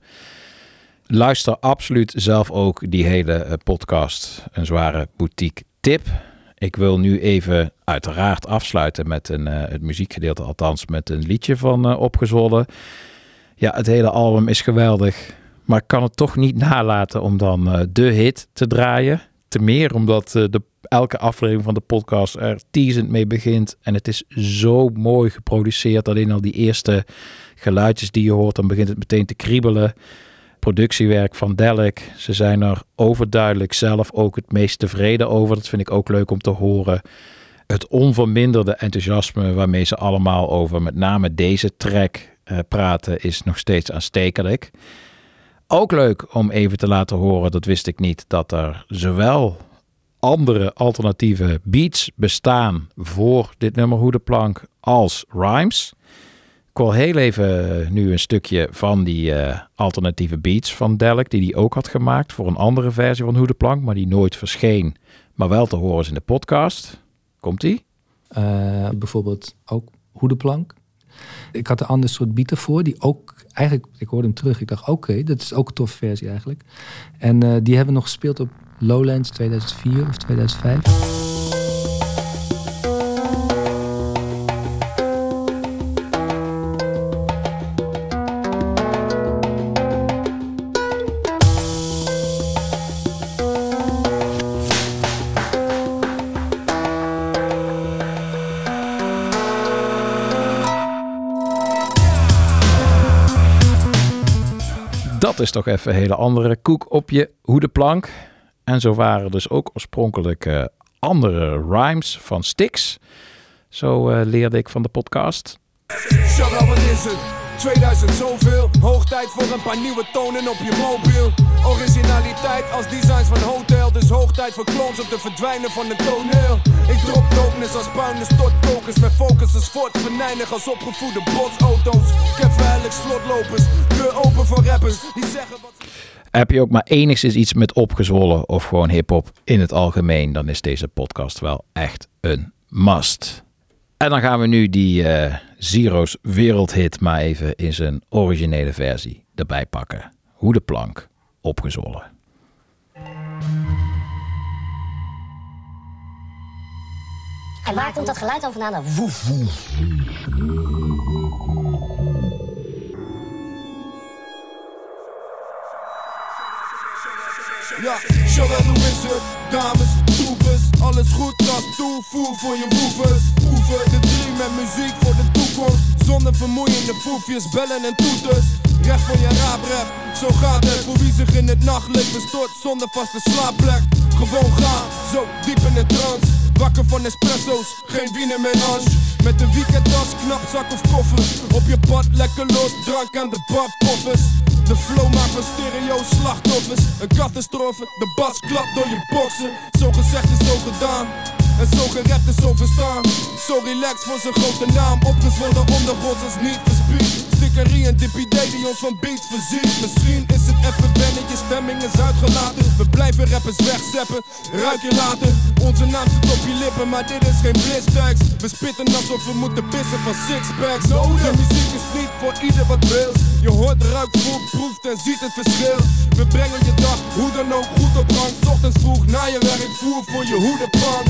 Luister absoluut zelf ook die hele podcast. Een zware boutique tip. Ik wil nu even uiteraard afsluiten met het muziekgedeelte, althans met een liedje van Opgezwollen. Ja, het hele album is geweldig, maar ik kan het toch niet nalaten om dan de hit te draaien. Te meer omdat elke aflevering van de podcast er teasend mee begint. En het is zo mooi geproduceerd. Alleen al die eerste geluidjes die je hoort, dan begint het meteen te kriebelen. Productiewerk van Delek. Ze zijn er overduidelijk zelf ook het meest tevreden over. Dat vind ik ook leuk om te horen. Het onverminderde enthousiasme waarmee ze allemaal over met name deze track praten is nog steeds aanstekelijk. Ook leuk om even te laten horen, dat wist ik niet, dat er zowel andere alternatieve beats bestaan voor dit nummer Hoedenplank als rhymes. Ik wil heel even nu een stukje van die alternatieve beats van Delek, die hij ook had gemaakt voor een andere versie van Hoedenplank, maar die nooit verscheen, maar wel te horen is in de podcast. Komt-ie? Bijvoorbeeld ook Hoedenplank. Ik had een ander soort beat ervoor, die ook eigenlijk, ik hoorde hem terug, ik dacht oké, dat is ook een toffe versie eigenlijk. En die hebben we nog gespeeld op Lowlands 2004 of 2005. Dat is toch even een hele andere koek op je hoedenplank. En zo waren dus ook oorspronkelijk andere rhymes van Styx. Zo leerde ik van de podcast. Shabba, wat is het? 2000 zoveel. Hoog tijd voor een paar nieuwe tonen op je mobiel. Originaliteit als designs van hotel. Dus hoog tijd voor clones om te verdwijnen van het toneel. Ik drop dopeness als bruine stortkokers. Met focus als fort, venijnig als opgevoede botsauto's. Ik heb veilig slotlopers, deur open voor rappers die zeggen wat... Heb je ook maar enigszins iets met Opgezwollen of gewoon hiphop in het algemeen, dan is deze podcast wel echt een must. En dan gaan we nu die Zero's wereldhit maar even in zijn originele versie erbij pakken. Hoedenplank, Opgezwollen. En waar komt dat geluid dan vandaan? Woef, woef. Jawel, hoe is het? Dames, troepers, alles goed als toevoer voor je woevers. Oefen de 3 met muziek voor de toekomst. Zonder vermoeiende foefjes, bellen en toeters. Recht voor je raaprep, zo gaat het. Voor wie zich in het nachtleven stort zonder vaste slaapplek. Gewoon gaan, zo diep in de trance. Wakker van espresso's, geen wiener meer Ange. Met een weekendtas, knapzak of koffer. Op je pad lekker los, drank aan de badpoffers. De flow maakt van stereo slachtoffers. Een catastrofe, de bas klapt door je boksen. Zo gezegd is zo gedaan. En zo gerept is zo verstaan. Zo relaxed voor zijn grote naam. Opgezwollen ondergronds als niet verspied. Stickerie en DPD die ons van beats voorziet. Misschien is het even wennen, je stemming is uitgelaten. We blijven rappers wegzeppen, ruik je later. Onze naam zit op je lippen, maar dit is geen blitztekst. We spitten alsof we moeten pissen van sixpacks. De muziek is niet voor ieder wat wil. Je hoort, ruikt, voelt, proeft en ziet het verschil. We brengen je dag, hoe dan ook, goed op gang. 's Ochtends vroeg na je werk, voer voor je hoedenplank.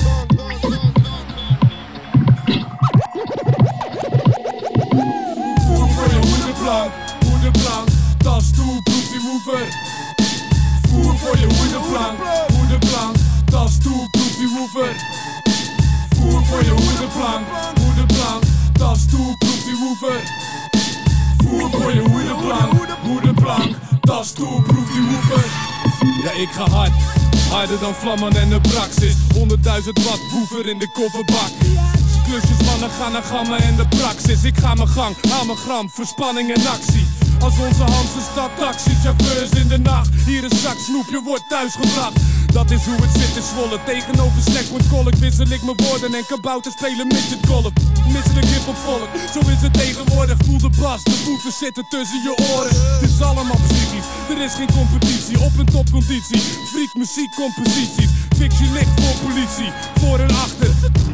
Voer voor je hoedenplank, hoedenplank. Tas toe, proef die woever. Voer voor je hoedenplank, hoedenplank. Tas toe, proef die woever. Voer voor je hoedenplank, hoedenplank. Tas toe, proef die woever. Voer voor je hoedenplank, hoedenplank. Tas toe, proef die woever. Ja, ik ga hard. Harder dan vlammen en de praxis. 100.000 watt woever in de kofferbak. Klusjes mannen gaan naar gamma en de praxis. Ik ga mijn gang, haal mijn gram, verspanning en actie. Als onze Hamse stad taxichauffeurs in de nacht. Hier een zak snoep, je wordt thuisgebracht. Dat is hoe het zit in Zwolle. Tegenover Snackwood wissel ik mijn woorden. En kabouter spelen midget golf. Misselijk hiphop volk, zo is het tegenwoordig. Voel de bas, de voeten zitten tussen je oren. Het is allemaal psychisch, er is geen competitie. Op een topconditie, freak muziek composities. Fictie ligt voor politie, voor en achter.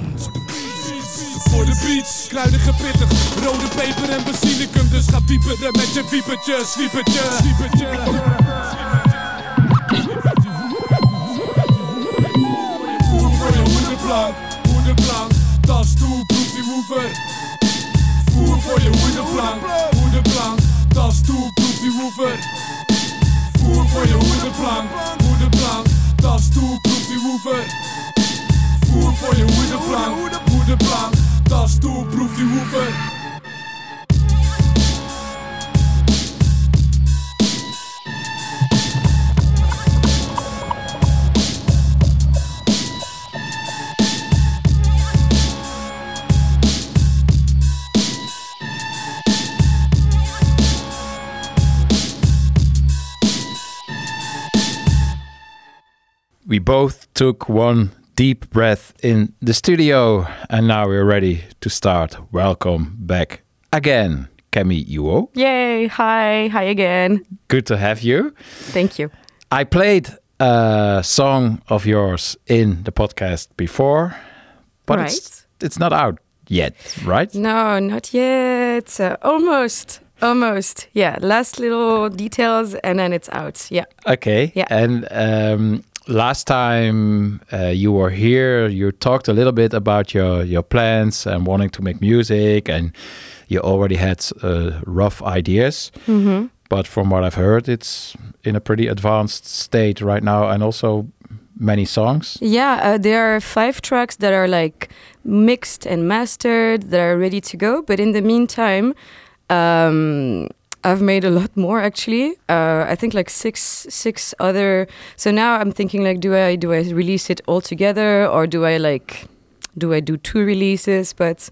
Voor de beats, kruidige pittig, rode peper en basilicum. Dus ga dieper met je wiepertje, zwiepertje, zwiepertje. Voer voor je hoedenplank, hoedenplank. Tas toe, proef die woever. Voer voor je hoedenplank, hoedenplank. Tas toe, proef die woever. Voer voor je hoedenplank, hoedenplank. Tas toe, proef die woever. Voer voor je hoedenplank, hoedenplank. Tas toe, proef die woever. We both took one deep breath in the studio, and now we're ready to start. Welcome back again, Kemi Uo. Yay, hi again. Good to have you. Thank you. I played a song of yours in the podcast before, but it's not out yet, right? No, not yet. Almost. Yeah, last little details and then it's out. Yeah. Okay. Yeah. And last time you were here, you talked a little bit about your plans and wanting to make music, and you already had rough ideas. Mm-hmm. But from what I've heard, it's in a pretty advanced state right now, and also many songs. Yeah, there are 5 tracks that are like mixed and mastered that are ready to go. But in the meantime, I've made a lot more actually. I think like six other. So now I'm thinking like, do I release it all together, or do I do 2 releases? But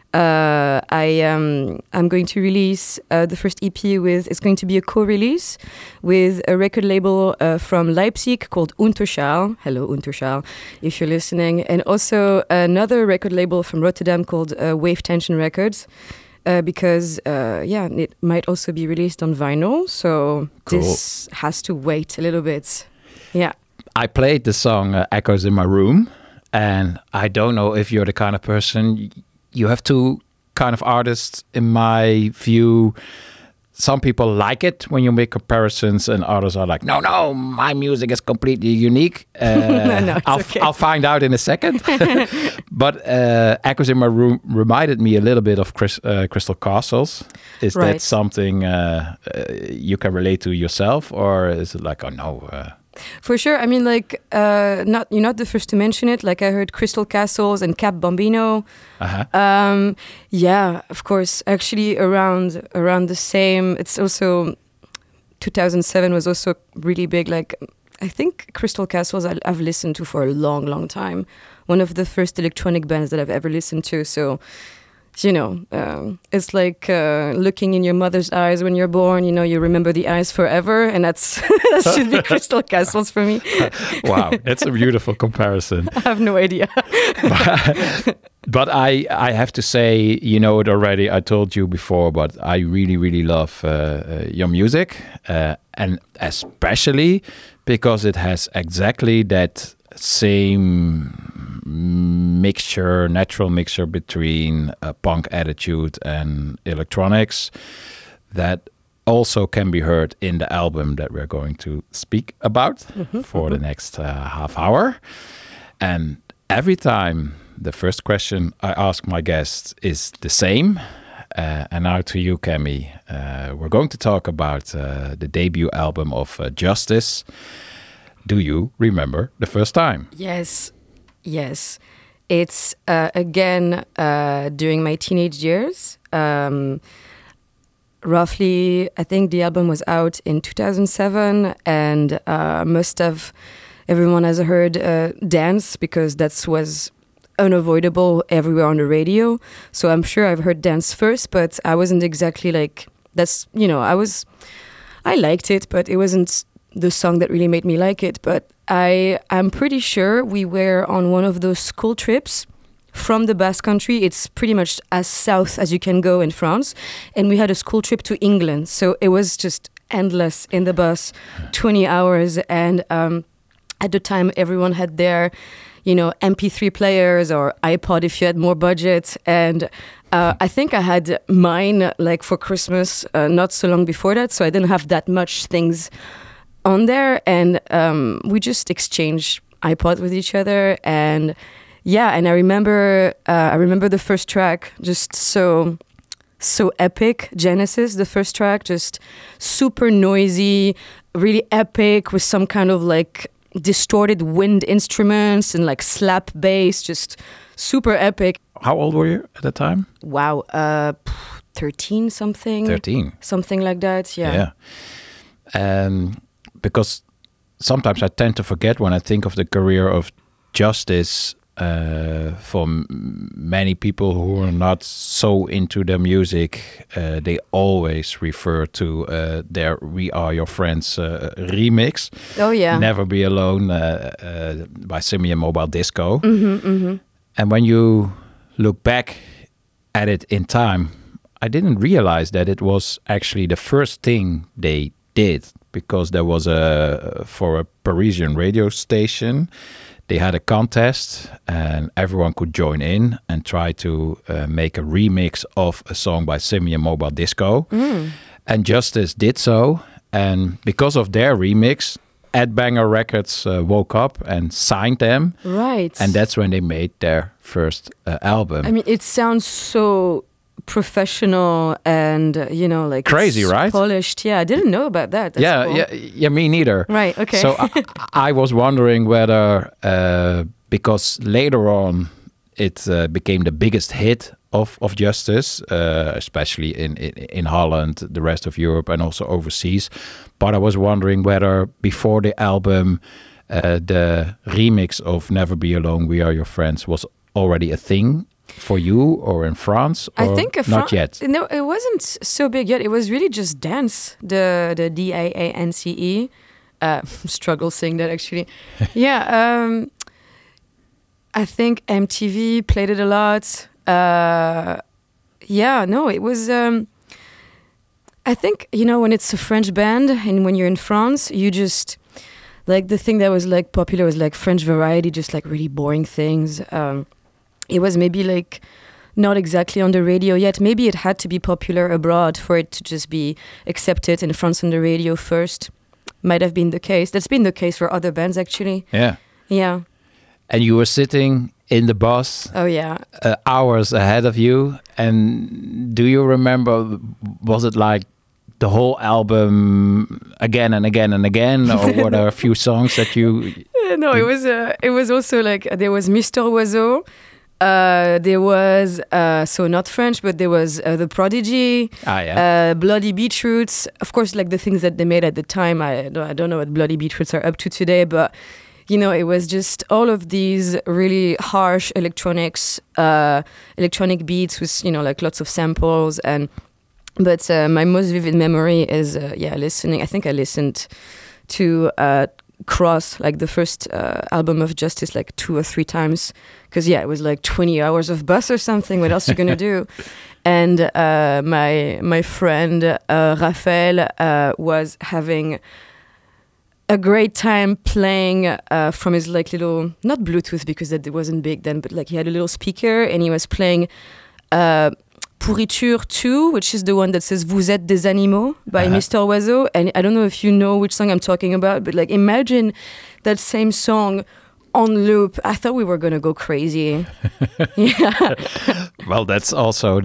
I'm going to release the first EP with. It's going to be a co-release with a record label from Leipzig called Unterschall. Hello Unterschall, if you're listening, and also another record label from Rotterdam called Wave Tension Records. Because it might also be released on vinyl, so cool. This has to wait a little bit. Yeah. I played the song Echoes in My Room, and I don't know if you're the kind of person. You have 2 kind of artists, in my view. Some people like it when you make comparisons, and others are like, no, my music is completely unique. No, okay. I'll find out in a second. But Echoes in My Room reminded me a little bit of Crystal Castles. Is that something you can relate to yourself, or is it like, oh no? For sure. I mean, like, you're not the first to mention it. Like, I heard Crystal Castles and Cap Bambino. Yeah, of course. Actually, around the same. It's also 2007 was also really big. Like, I think Crystal Castles I've listened to for a long, long time. One of the first electronic bands that I've ever listened to. So, you know, it's like looking in your mother's eyes when you're born. You know, you remember the eyes forever, and that should be Crystal Castles for me. Wow, that's a beautiful comparison. I have no idea. But I have to say, you know it already. I told you before, but I really, really love your music, and especially because it has exactly that same natural mixture between a punk attitude and electronics that also can be heard in the album that we're going to speak about for the next half hour. And every time the first question I ask my guests is the same. And now to you, Cammy. We're going to talk about the debut album of Justice. Do you remember the first time? Yes. It's again during my teenage years. Roughly, I think the album was out in 2007, and everyone has heard Dance, because that was unavoidable everywhere on the radio. So I'm sure I've heard Dance first, but I wasn't exactly like that's. You know, I liked it, but it wasn't the song that really made me like it. But I'm pretty sure we were on one of those school trips from the Basque Country. It's pretty much as south as you can go in France. And we had a school trip to England. So it was just endless in the bus, 20 hours. And at the time, everyone had their, MP3 players or iPod if you had more budget. And I think I had mine like for Christmas not so long before that. So I didn't have that much things on there, and we just exchanged iPods with each other, and I remember the first track, just so epic. Genesis, the first track, just super noisy, really epic, with some kind of like distorted wind instruments and like slap bass, just super epic. How old were you at the time? Wow, 13 something. 13. Something like that, yeah. Because sometimes I tend to forget when I think of the career of Justice, for many people who are not so into their music, they always refer to their We Are Your Friends remix. Oh, yeah. Never Be Alone by Simian Mobile Disco. Mm-hmm. And when you look back at it in time, I didn't realize that it was actually the first thing they did, because there was for a Parisian radio station, they had a contest and everyone could join in and try to make a remix of a song by Simian Mobile Disco. And Justice did so, and because of their remix, Ed Banger Records woke up and signed them. Right. And that's when they made their first album. I mean, it sounds so professional and like crazy, right? Polished. Yeah, I didn't know about that. That's cool. Yeah, me neither. Right. Okay. So I was wondering whether because later on it became the biggest hit of Justice, especially in Holland, the rest of Europe, and also overseas. But I was wondering whether before the album, the remix of Never Be Alone, We Are Your Friends was already a thing for you, or in France, or I think not yet? No, it wasn't so big yet. It was really just dance, the DAANCE. Struggle saying that, actually. Yeah, I think MTV played it a lot. It was... I think, when it's a French band and when you're in France, you just... Like, the thing that was, like, popular was, like, French variety, just, like, really boring things. It was maybe like not exactly on the radio yet. Maybe it had to be popular abroad for it to just be accepted in France on the radio first. Might have been the case. That's been the case for other bands, actually. Yeah. Yeah. And you were sitting in the bus. Oh, yeah. Hours ahead of you. And do you remember, was it like the whole album again and again and again, or were there a few songs that you? No, it was also like there was Mr. Oiseau. There was so not French, but there was The Prodigy, Bloody Beetroots. Of course, like the things that they made at the time. I don't know what Bloody Beetroots are up to today, but you know, it was just all of these really harsh electronic beats with, you know, like lots of samples. But my most vivid memory is listening. I think I listened to Cross, like the first album of Justice, like 2 or 3 times, because it was like 20 hours of bus or something. What else are you gonna do? And my friend Raphael was having a great time playing from his like little, not Bluetooth because it wasn't big then, but like he had a little speaker and he was playing Pourriture 2, which is the one that says Vous êtes des animaux by Mr. Oiseau. And I don't know if you know which song I'm talking about, but like imagine that same song on loop. I thought we were gonna go crazy. Yeah. Well, that's also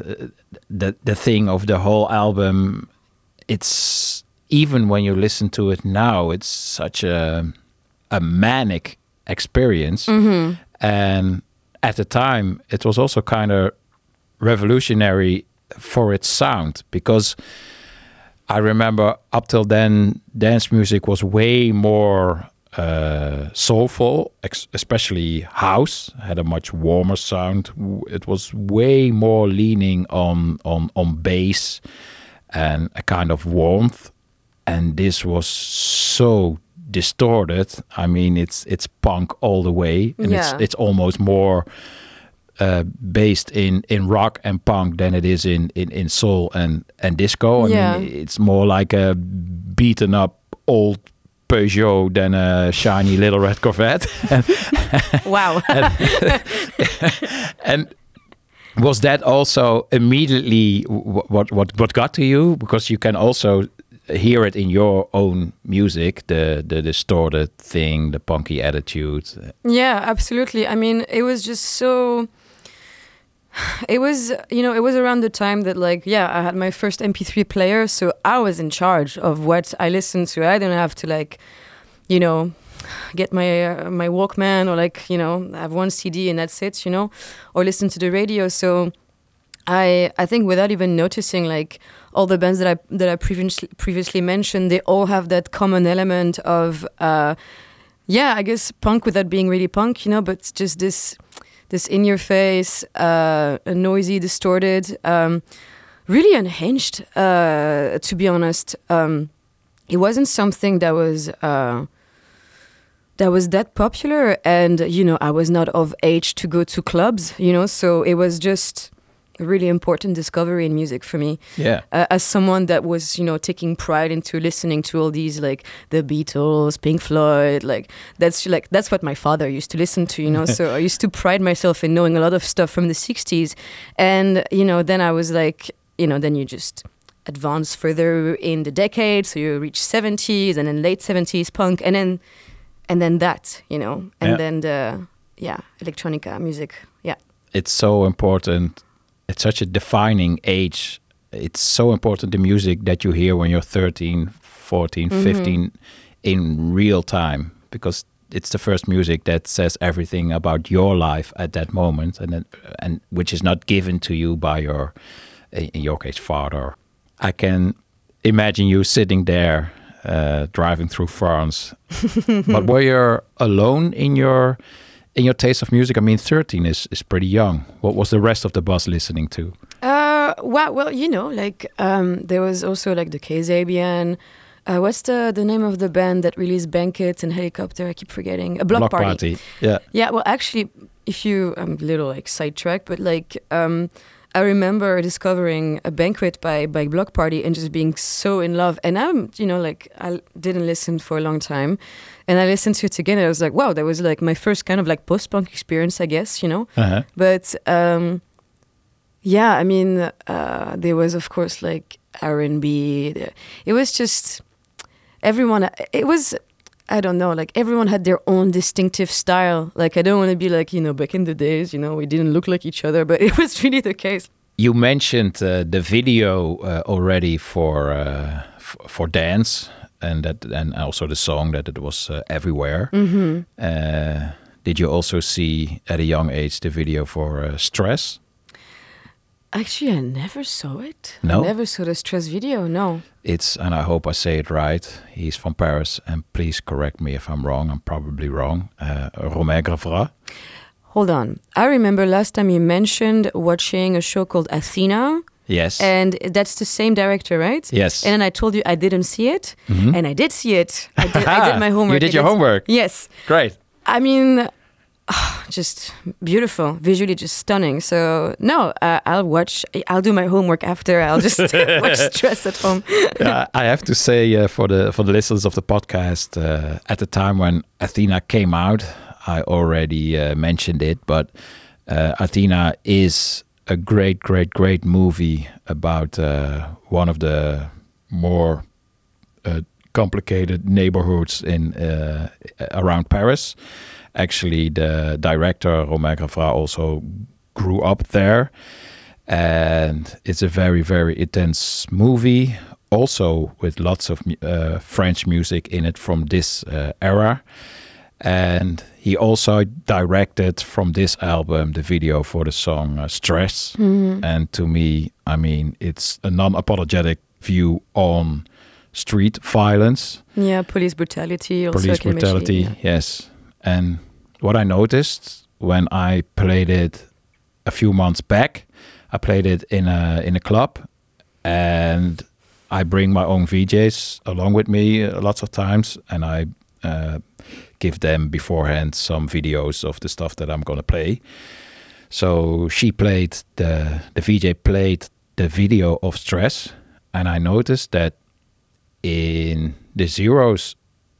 the thing of the whole album. It's even when you listen to it now, it's such a manic experience. Mm-hmm. And at the time, it was also kind of revolutionary for its sound, because I remember up till then, dance music was way more soulful, especially house had a much warmer sound. It was way more leaning on bass and a kind of warmth. And this was so distorted. I mean, it's punk all the way, and it's almost more based in rock and punk than it is in soul and disco. I mean, it's more like a beaten up old Peugeot than a shiny little red Corvette. Wow. and was that also immediately what got to you? Because you can also hear it in your own music, the distorted thing, the punky attitude. Yeah, absolutely. I mean, it was just so... It was, you know, it was around the time that, like, I had my first MP3 player, so I was in charge of what I listened to. I didn't have to, like, you know, get my Walkman or, like, you know, have one CD and that's it, you know, or listen to the radio. So I think without even noticing, like, all the bands that I previously mentioned, they all have that common element of, I guess punk without being really punk, you know, but just this in your face, noisy, distorted, really unhinged. To be honest, it wasn't something that was that popular, and you know, I was not of age to go to clubs, you know, so it was just a really important discovery in music for me. Yeah. As someone that was, you know, taking pride into listening to all these, like the Beatles, Pink Floyd, like that's what my father used to listen to, you know. So I used to pride myself in knowing a lot of stuff from the 60s. And, you know, then I was like, you know, then you just advance further in the decade. So you reach 70s and then late 70s punk and then that, you know, and then the, electronica music. Yeah. It's so important. It's such a defining age. It's so important, the music that you hear when you're 13, 14, 15 in real time, because it's the first music that says everything about your life at that moment, and which is not given to you by your, in your case, father. I can imagine you sitting there driving through France. But were you alone in your taste of music? I mean, 13 is pretty young. What was the rest of the bus listening to? Well, you know, like there was also like the Kasabian. What's the name of the band that released Banquet and Helicopter? I keep forgetting. A Block Party. Yeah. Yeah. Well, actually, I'm a little like sidetracked, but like I remember discovering a Banquet by Block Party and just being so in love. And I'm, you know, like I didn't listen for a long time. And I listened to it again and I was like, wow, that was like my first kind of like post-punk experience, I guess, you know. Uh-huh. But I mean, there was, of course, like R&B. It was just everyone, it was, I don't know, like everyone had their own distinctive style. Like I don't want to be like, you know, back in the days, you know, we didn't look like each other, but it was really the case. You mentioned the video already for Dance, and also the song that it was everywhere. Did you also see at a young age the video for Stress? Actually, I never saw it. No? I never saw the Stress video, no. It's, and I hope I say it right, he's from Paris, and please correct me if I'm wrong, I'm probably wrong, Romain Gavras. Hold on. I remember last time you mentioned watching a show called Athena. Yes. And that's the same director, right? Yes. And then I told you I didn't see it. And I did see it. I did my homework. You did your homework? Yes. Great. I mean, just beautiful. Visually just stunning. So, no, I'll do my homework after. I'll just watch Stress at home. I have to say for the listeners of the podcast, at the time when Athena came out, I already mentioned it, but Athena is a great movie about one of the more complicated neighborhoods in around Paris. Actually, the director Romain Gavras also grew up there, and it's a very intense movie. Also with lots of French music in it from this era. And he also directed from this album the video for the song Stress. And to me, I mean, it's a non-apologetic view on street violence. Yeah, police brutality. Also police brutality, yes. And what I noticed when I played it a few months back, I played it in a club, and I bring my own VJs along with me lots of times, and I give them beforehand some videos of the stuff that I'm gonna play. So the VJ played the video of Stress, and I noticed that in the Zeros,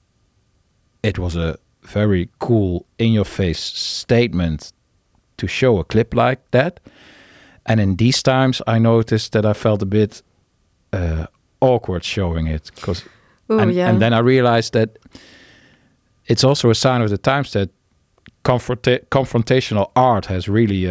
it was a very cool, in-your-face statement to show a clip like that. And in these times, I noticed that I felt a bit awkward showing it, and then I realized that it's also a sign of the times that confrontational art has really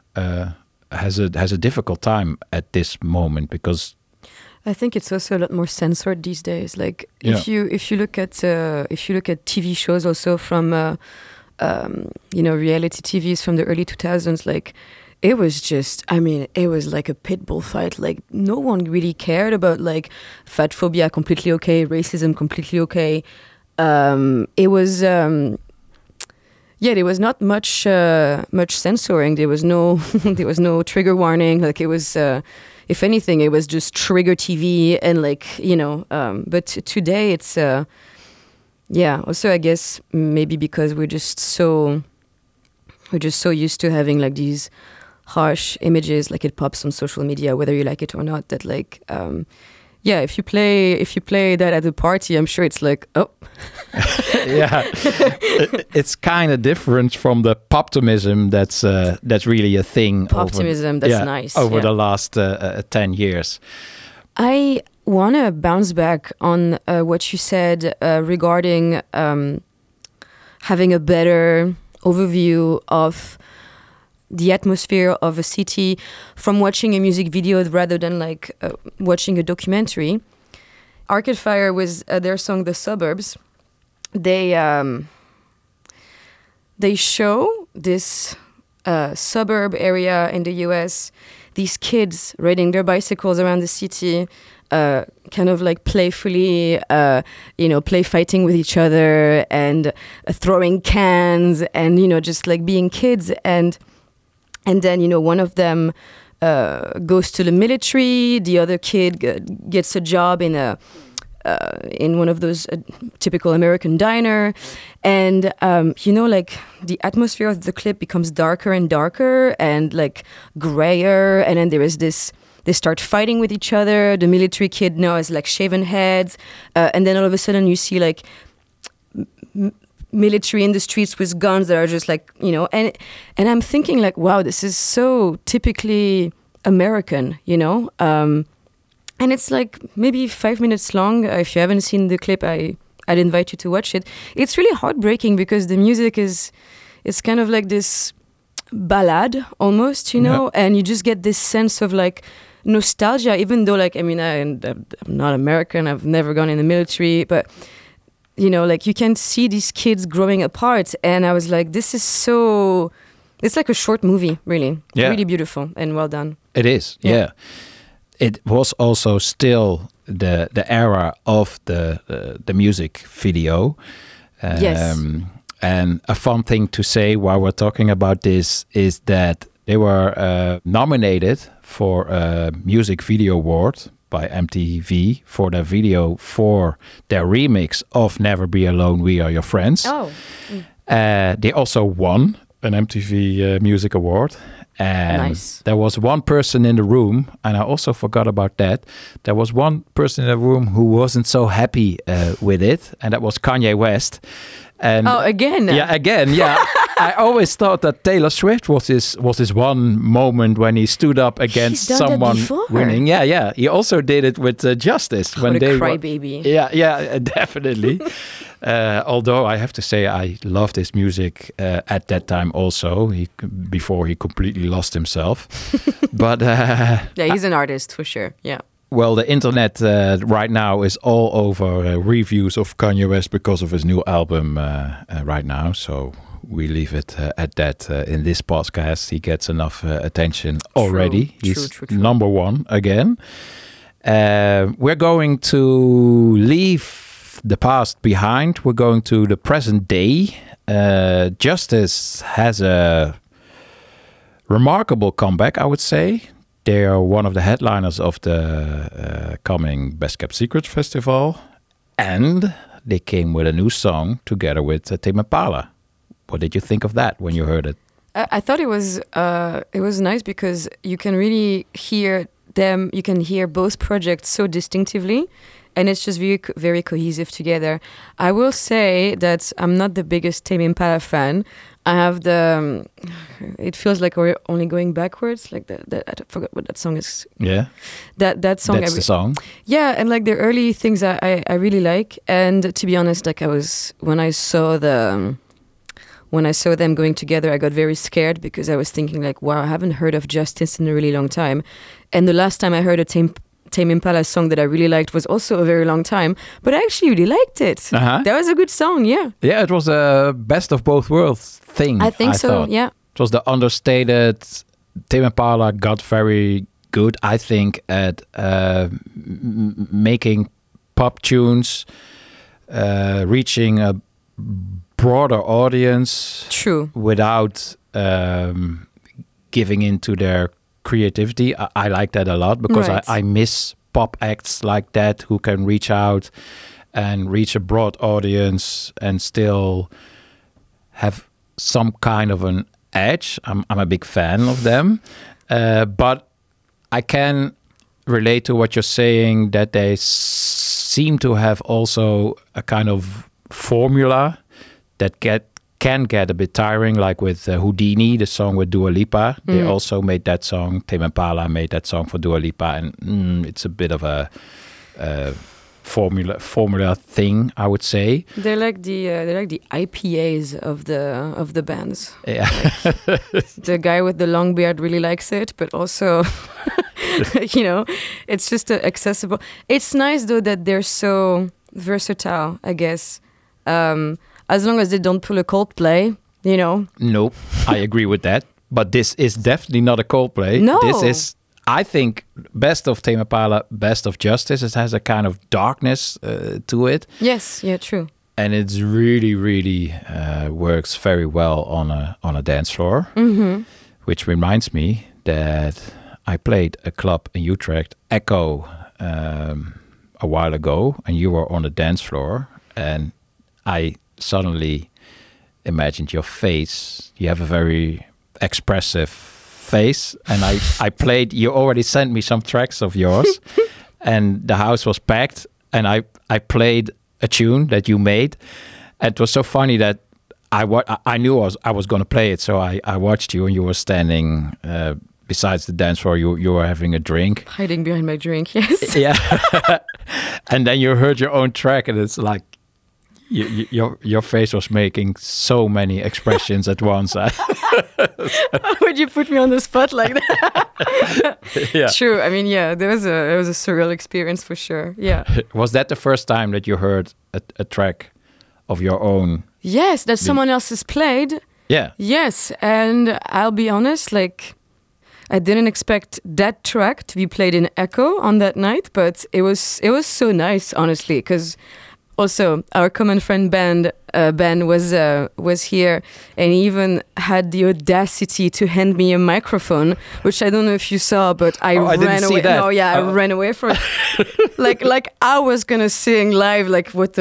has a difficult time at this moment, because I think it's also a lot more censored these days. Like if you look at TV shows also from reality TVs from the early 2000s, like it was just, I mean, it was like a pit bull fight. Like no one really cared about like fat phobia, completely okay, racism, completely okay. It was there was not much censoring. There was no trigger warning. Like it was. If anything, it was just trigger TV and but today it's, also I guess maybe because we're just so used to having like these harsh images, like it pops on social media, whether you like it or not, that like, if you play that at a party, I'm sure it's like, oh. Yeah, it's kind of different from the poptimism that's really a thing. Poptimism, that's nice. Over the last 10 years. I want to bounce back on what you said regarding having a better overview of the atmosphere of a city from watching a music video rather than like watching a documentary. Arcade Fire was their song "The Suburbs." They show this suburb area in the US, these kids riding their bicycles around the city, kind of like playfully, play fighting with each other and throwing cans and, just like being kids. And then, one of them goes to the military, the other kid gets a job in one of those typical American diner. And, like the atmosphere of the clip becomes darker and darker and like grayer. And then there is this, they start fighting with each other. The military kid now has like shaven heads. And then all of a sudden you see like military in the streets with guns that are just like, and I'm thinking like, wow, this is so typically American, and it's like maybe 5 minutes long. If you haven't seen the clip, I'd invite you to watch it. It's really heartbreaking because the music it's kind of like this ballad almost, you know, and you just get this sense of like nostalgia, even though like, I mean, I'm not American, I've never gone in the military, but you know, like you can see these kids growing apart, and I was like, this is so, it's like a short movie, really. Yeah. Really beautiful and well done. It is, yeah. It was also still the era of the music video. Yes. And a fun thing to say while we're talking about this is that they were nominated for a music video award by MTV for their video for their remix of Never Be Alone, We Are Your Friends. Oh. They also won an MTV Music Award. And Nice. there was one person in the room, and I also forgot about that. There was one person in the room who wasn't so happy with it, and that was Kanye West. And Oh, again? Yeah, again, yeah. I always thought that Taylor Swift was his one moment when he stood up against done that someone before. winning. Yeah. He also did it with Justice What a they were- crybaby. Yeah, definitely. Although I have to say I loved his music at that time also, before he completely lost himself. But Yeah, he's an artist for sure. Yeah. well, the internet right now is all over reviews of Kanye West because of his new album right now. So we leave it at that in this podcast. He gets enough attention already. He's true. number one again. We're going to leave the past behind. We're going to the present day. Justice has a remarkable comeback, I would say. They are one of the headliners of the coming Best Kept Secrets Festival. And they came with a new song together with Tame Impala. What did you think of that when you heard it? I thought it was nice because you can really hear them. You can hear both projects so distinctively, and it's just very very cohesive together. I will say that I'm not the biggest Tame Impala fan. I have the. It feels like we're only going backwards. Like that I forgot what that song is. Yeah, That song. that's the song. Yeah, and like the early things I really like. And to be honest, like when I saw them going together, I got very scared because I was thinking like, wow, I haven't heard of Justice in a really long time. And the last time I heard a Tame Impala song that I really liked was also a very long time, but I actually really liked it. Uh-huh. That was a good song, yeah. Yeah, it was a best of both worlds thing. I think so, thought. yeah. It was the understated. Tame Impala got very good, I think, at making pop tunes, reaching a broader audience. True. Without giving into their creativity. I like that a lot because Right. I miss pop acts like that who can reach out and reach a broad audience and still have some kind of an edge. I'm a big fan of them. But I can relate to what you're saying that they seem to have also a kind of formula that can get a bit tiring, like with Houdini, the song with Dua Lipa. They also made that song. Tame Impala made that song for Dua Lipa, and it's a bit of a formula thing, I would say. They're like the IPAs of the bands. Yeah, The guy with the long beard really likes it, but also, you know, it's just accessible. It's nice though that they're so versatile, I guess. As long as they don't pull a Coldplay, you know. nope, I agree with that. But this is definitely not a Coldplay. No. This is, I think, best of Tame Impala, best of Justice. It has a kind of darkness to it. Yes, yeah, true. And it's really works very well on a dance floor. Mm-hmm. Which reminds me that I played a club in Utrecht, Echo, a while ago, and you were on the dance floor, and I suddenly imagined your face. You have a very expressive face, and I played. You already sent me some tracks of yours, and the house was packed, and I played a tune that you made. And it was so funny that I knew I was going to play it, so I watched you, and you were standing besides the dance floor. You were having a drink, Hiding behind my drink, yes. yeah, and then you heard your own track, and it's like, Your face was making so many expressions at once. Would you put me on the spot like that? Yeah. True. I mean, yeah, it was a surreal experience for sure. Yeah. Was that the first time that you heard a track of your own? Yes, that someone else has played. Yeah. Yes, and I'll be honest, like, I didn't expect that track to be played in Echo on that night, but it was so nice, honestly, because also our common friend Ben was here, and he even had the audacity to hand me a microphone, which I don't know if you saw, but I ran didn't away. see that. No, yeah, I ran away from it. like I was gonna sing live, like what.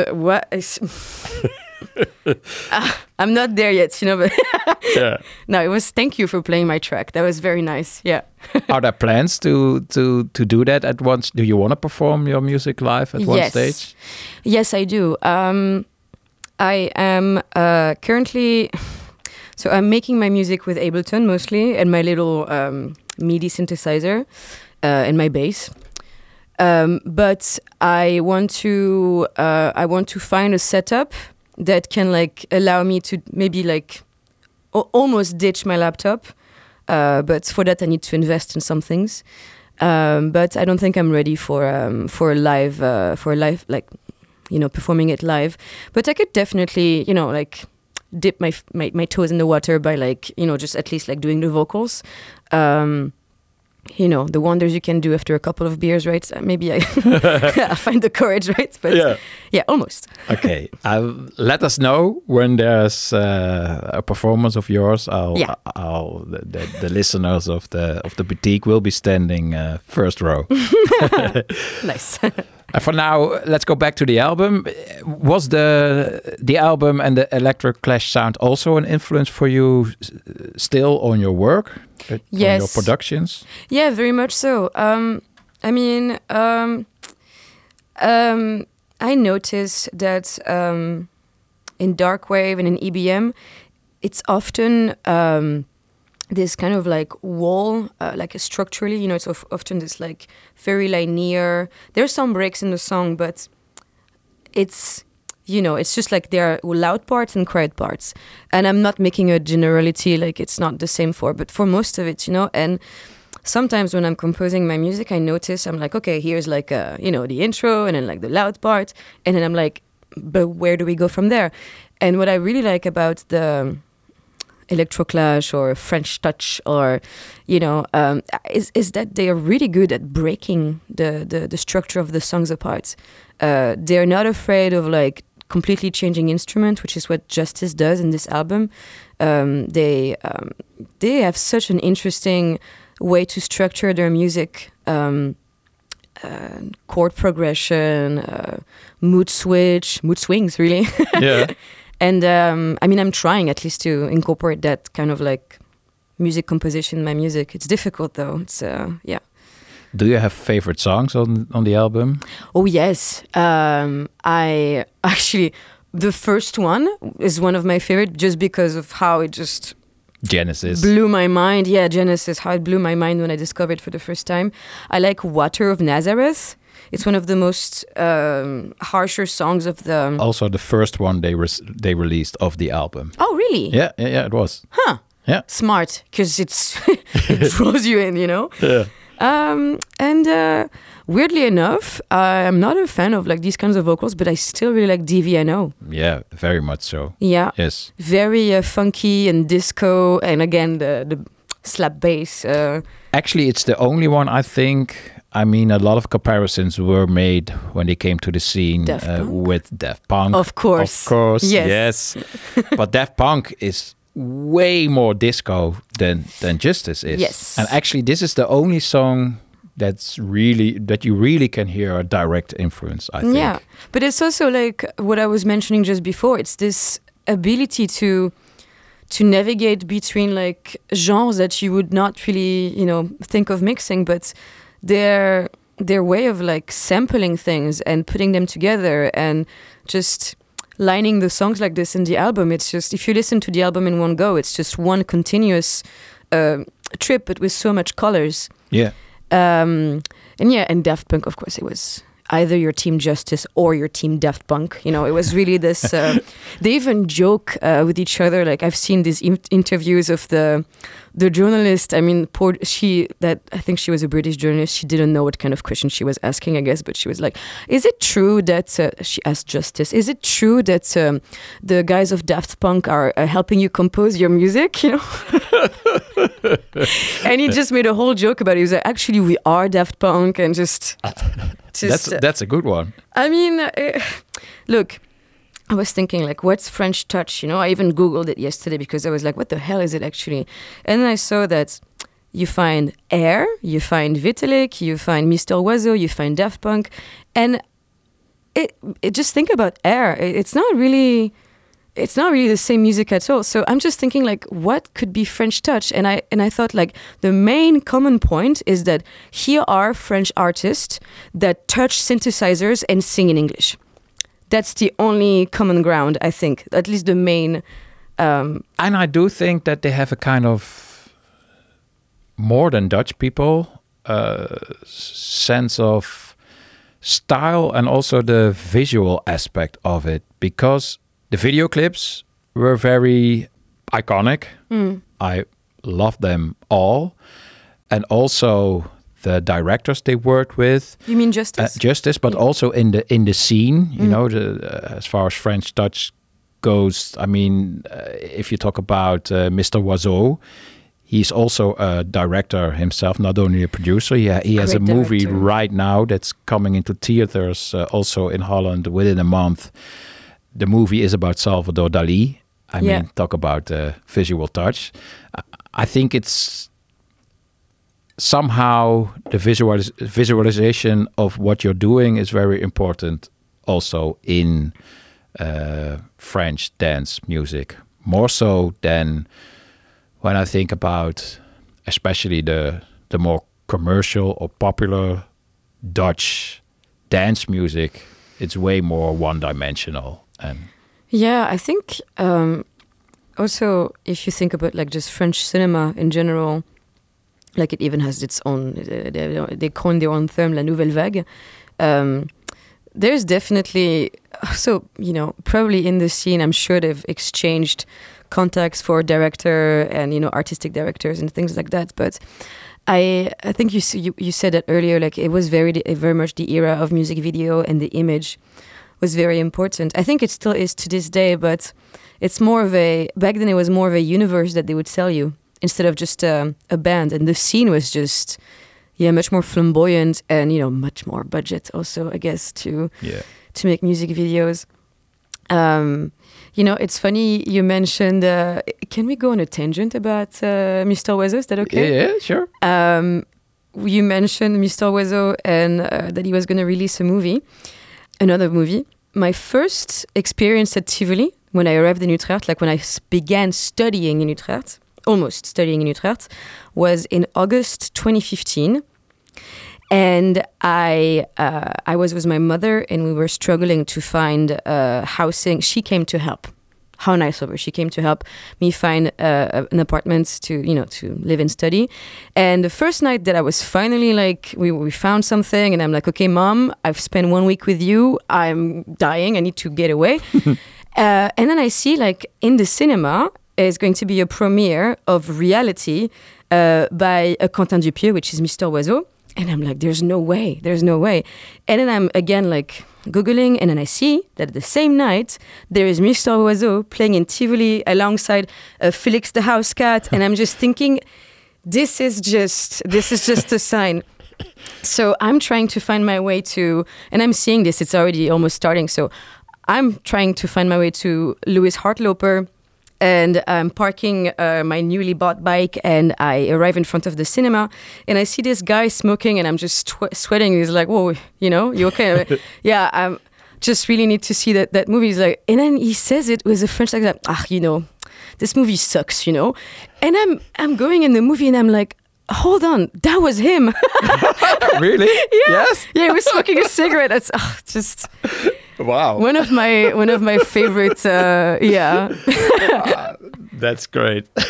I'm not there yet, but Yeah. no, it was thank you for playing my track. That was very nice. Yeah. Are there plans to do that at once? Do you want to perform your music live at one stage? Yes, I do. I am currently, so I'm making my music with Ableton mostly, and my little MIDI synthesizer and my bass. But I want to find a setup that can like allow me to maybe like almost ditch my laptop. But for that I need to invest in some things. But I don't think I'm ready for a live like performing it live. But I could definitely like dip my toes in the water by like just at least like doing the vocals. The wonders you can do after a couple of beers, right? Maybe I find the courage, right? But yeah, almost. Okay, let us know when there's a performance of yours. The listeners of the boutique will be standing first row. Nice. For now, let's go back to the album. Was the album and the Electric Clash sound also an influence for you still on your work? Yes. On your productions? Yeah, very much so. I noticed that in darkwave and in EBM, it's often this kind of like wall, like structurally, it's often this like very linear. There's some breaks in the song, but it's just like there are loud parts and quiet parts. And I'm not making a generality, like it's not the same but for most of it, and sometimes when I'm composing my music, I notice I'm like, okay, here's like, the intro and then like the loud part. And then I'm like, but where do we go from there? And what I really like about the Electroclash or French Touch or, is that they are really good at breaking the structure of the songs apart. They're not afraid of like completely changing instrument, which is what Justice does in this album. They have such an interesting way to structure their music, chord progression, mood swings, really. Yeah. And I'm trying at least to incorporate that kind of like music composition in my music. It's difficult though. It's yeah. Do you have favorite songs on the album? Oh yes, I actually the first one is one of my favorite just because of how it just Genesis blew my mind. Yeah, Genesis, how it blew my mind when I discovered it for the first time. I like Water of Nazareth. It's one of the most harsher songs of the. Also, the first one they released of the album. Oh really? Yeah, it was. Huh. Yeah. Smart, because it draws you in, Yeah. And weirdly enough, I'm not a fan of like these kinds of vocals, but I still really like DVNO. Yeah, very much so. Yeah. Yes. Very funky and disco, and again the slap bass. Actually, it's the only one I think. I mean, a lot of comparisons were made when they came to the scene with Daft Punk. Of course. Of course. Yes. But Daft Punk is way more disco than Justice is. Yes. And actually, this is the only song that you really can hear a direct influence, I think. Yeah, but it's also like what I was mentioning just before. It's this ability to navigate between like genres that you would not really, think of mixing, but their way of like sampling things and putting them together and just lining the songs like this in the album. It's just, if you listen to the album in one go, it's just one continuous trip, but with so much colors. Yeah. And Daft Punk, of course, it was either your Team Justice or your Team Daft Punk. You know, it was really this. They even joke with each other. Like I've seen these interviews of the journalist. I mean, I think she was a British journalist. She didn't know what kind of question she was asking, I guess, but she was like, "Is it true that?" She asked Justice, "Is it true that the guys of Daft Punk are helping you compose your music?" You know, and he just made a whole joke about it. He was like, "Actually, we are Daft Punk," and just that's a good one. I mean, look. I was thinking, like, what's French touch? You know, I even Googled it yesterday because I was like, what the hell is it actually? And then I saw that you find Air, you find Vitalik, you find Mr. Oizo, you find Daft Punk. And it just think about Air. It's not really the same music at all. So I'm just thinking, like, what could be French touch? And I thought, like, the main common point is that here are French artists that touch synthesizers and sing in English. That's the only common ground, I think. At least the main. And I do think that they have a kind of more than Dutch people sense of style and also the visual aspect of it, because the video clips were very iconic. I love them all, and also the directors they worked with. You mean Justice? Justice, but also in the scene, you know, as far as French touch goes. I mean, if you talk about Mr. Oizo, he's also a director himself, not only a producer. He has a movie director right now that's coming into theaters also in Holland within a month. The movie is about Salvador Dali. I mean, talk about visual touch. I think it's somehow the visualization of what you're doing is very important also in French dance music, more so than when I think about especially the more commercial or popular Dutch dance music. It's way more one-dimensional. And yeah, I think also if you think about like just French cinema in general, like it even has its own, they coined their own term, la nouvelle vague. There's definitely, so, you know, probably in the scene, I'm sure they've exchanged contacts for director and, you know, artistic directors and things like that. But I think you said that earlier, like it was very much the era of music video, and the image was very important. I think it still is to this day, but it's more of back then it was more of a universe that they would sell you, instead of just a band. And the scene was just, much more flamboyant and, you know, much more budget also, I guess, to make music videos. You know, it's funny you mentioned, can we go on a tangent about Mr. Oizo? Is that okay? Yeah, sure. You mentioned Mr. Oizo and that he was going to release another movie. My first experience at Tivoli, when I arrived in Utrecht, like when I began studying in Utrecht, almost studying in Utrecht, was in August 2015. And I was with my mother, and we were struggling to find housing. She came to help. How nice of her. She came to help me find an apartment to live and study. And the first night that I was finally like, we found something, and I'm like, okay, Mom, I've spent 1 week with you. I'm dying. I need to get away. And then I see, like, in the cinema, is going to be a premiere of Reality by Quentin Dupieux, which is Mr. Oizo. And I'm like, there's no way. And then I'm again like Googling, and then I see that the same night there is Mr. Oizo playing in Tivoli alongside Felix the House Cat. And I'm just thinking, this is just a sign. So I'm trying to find my way to, and I'm seeing this, it's already almost starting. So I'm trying to find my way to Louis Hartloper. And I'm parking my newly bought bike, and I arrive in front of the cinema, and I see this guy smoking, and I'm just sweating. He's like, "Whoa, you know, you okay?" Like, yeah, I just really need to see that movie. He's like, and then he says it with a French accent. You know, this movie sucks, you know. And I'm going in the movie, and I'm like, hold on, that was him. Really? Yeah. Yes. Yeah, he was smoking a cigarette. That's just. Wow. One of my favorite. Yeah. That's great.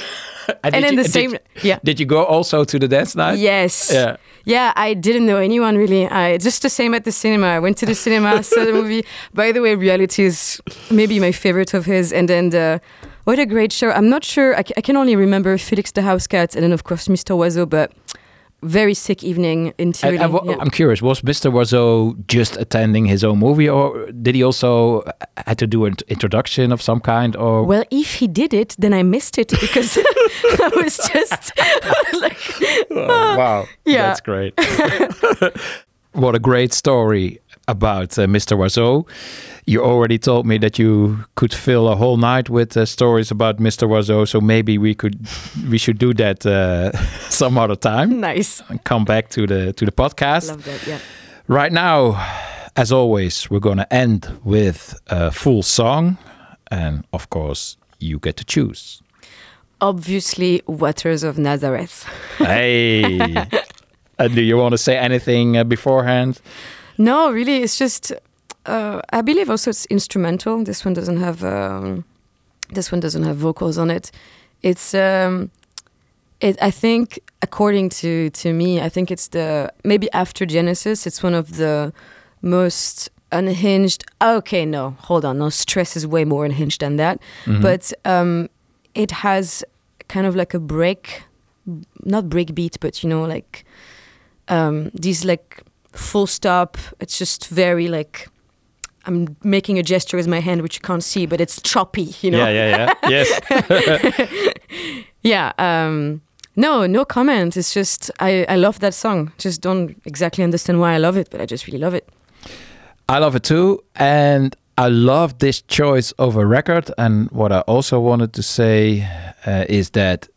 And And then the same, yeah. Did you go also to the dance night? Yes. Yeah. Yeah, I didn't know anyone really. Just the same at the cinema. I went to the cinema, saw the movie. By the way, Reality is maybe my favorite of his. And then what a great show. I'm not sure. I can only remember Felix the House Cat and then, of course, Mr. Oiseau, but very sick evening in Tivoli. Yeah. I'm curious, was Mr. Oiseau just attending his own movie, or did he also had to do an introduction of some kind? Or Well, if he did it, then I missed it because I was just like, wow, Yeah. that's great. What a great story about Mr. Oiseau. You already told me that you could fill a whole night with stories about Mr. Oiseau, so maybe we should do that some other time. nice. And come back to the podcast. Love that, yeah. Right now, as always, we're going to end with a full song, and of course, you get to choose. Obviously, Waters of Nazareth. Hey, do you want to say anything beforehand? No, really, it's just. I believe also it's instrumental. This one doesn't have vocals on it. It's I think according to me, I think it's maybe after Genesis, it's one of the most unhinged. Okay, no, hold on. No, Stress is way more unhinged than that. Mm-hmm. But it has kind of like a not breakbeat, but like these like full stop. It's just very like. I'm making a gesture with my hand, which you can't see, but it's choppy, Yeah. Yes. Yeah. No comment. It's just, I love that song. Just don't exactly understand why I love it, but I just really love it. I love it too. And I love this choice of a record. And what I also wanted to say is that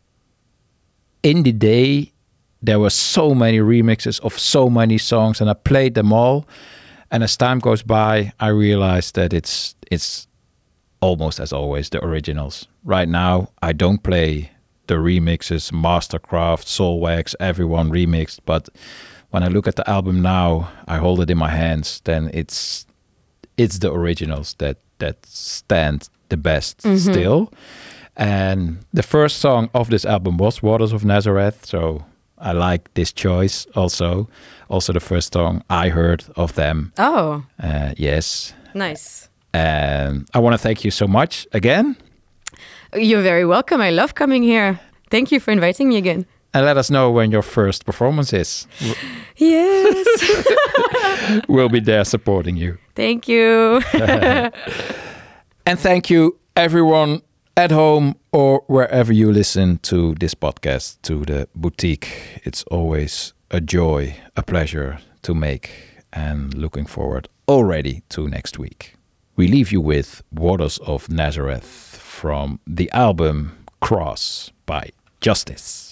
in the day, there were so many remixes of so many songs, and I played them all. And as time goes by, I realized that it's almost as always the originals. Right now, I don't play the remixes, Mastercraft, Soulwax, everyone remixed. But when I look at the album now, I hold it in my hands. Then it's the originals that stand the best still. And the first song of this album was Waters of Nazareth. So I like this choice also. Also the first song I heard of them. Oh. Yes. Nice. And I want to thank you so much again. You're very welcome. I love coming here. Thank you for inviting me again. And let us know when your first performance is. Yes. We'll be there supporting you. Thank you. And thank you everyone at home or wherever you listen to this podcast, to the boutique. It's always a joy, a pleasure to make, and looking forward already to next week. We leave you with Waters of Nazareth from the album Cross by Justice.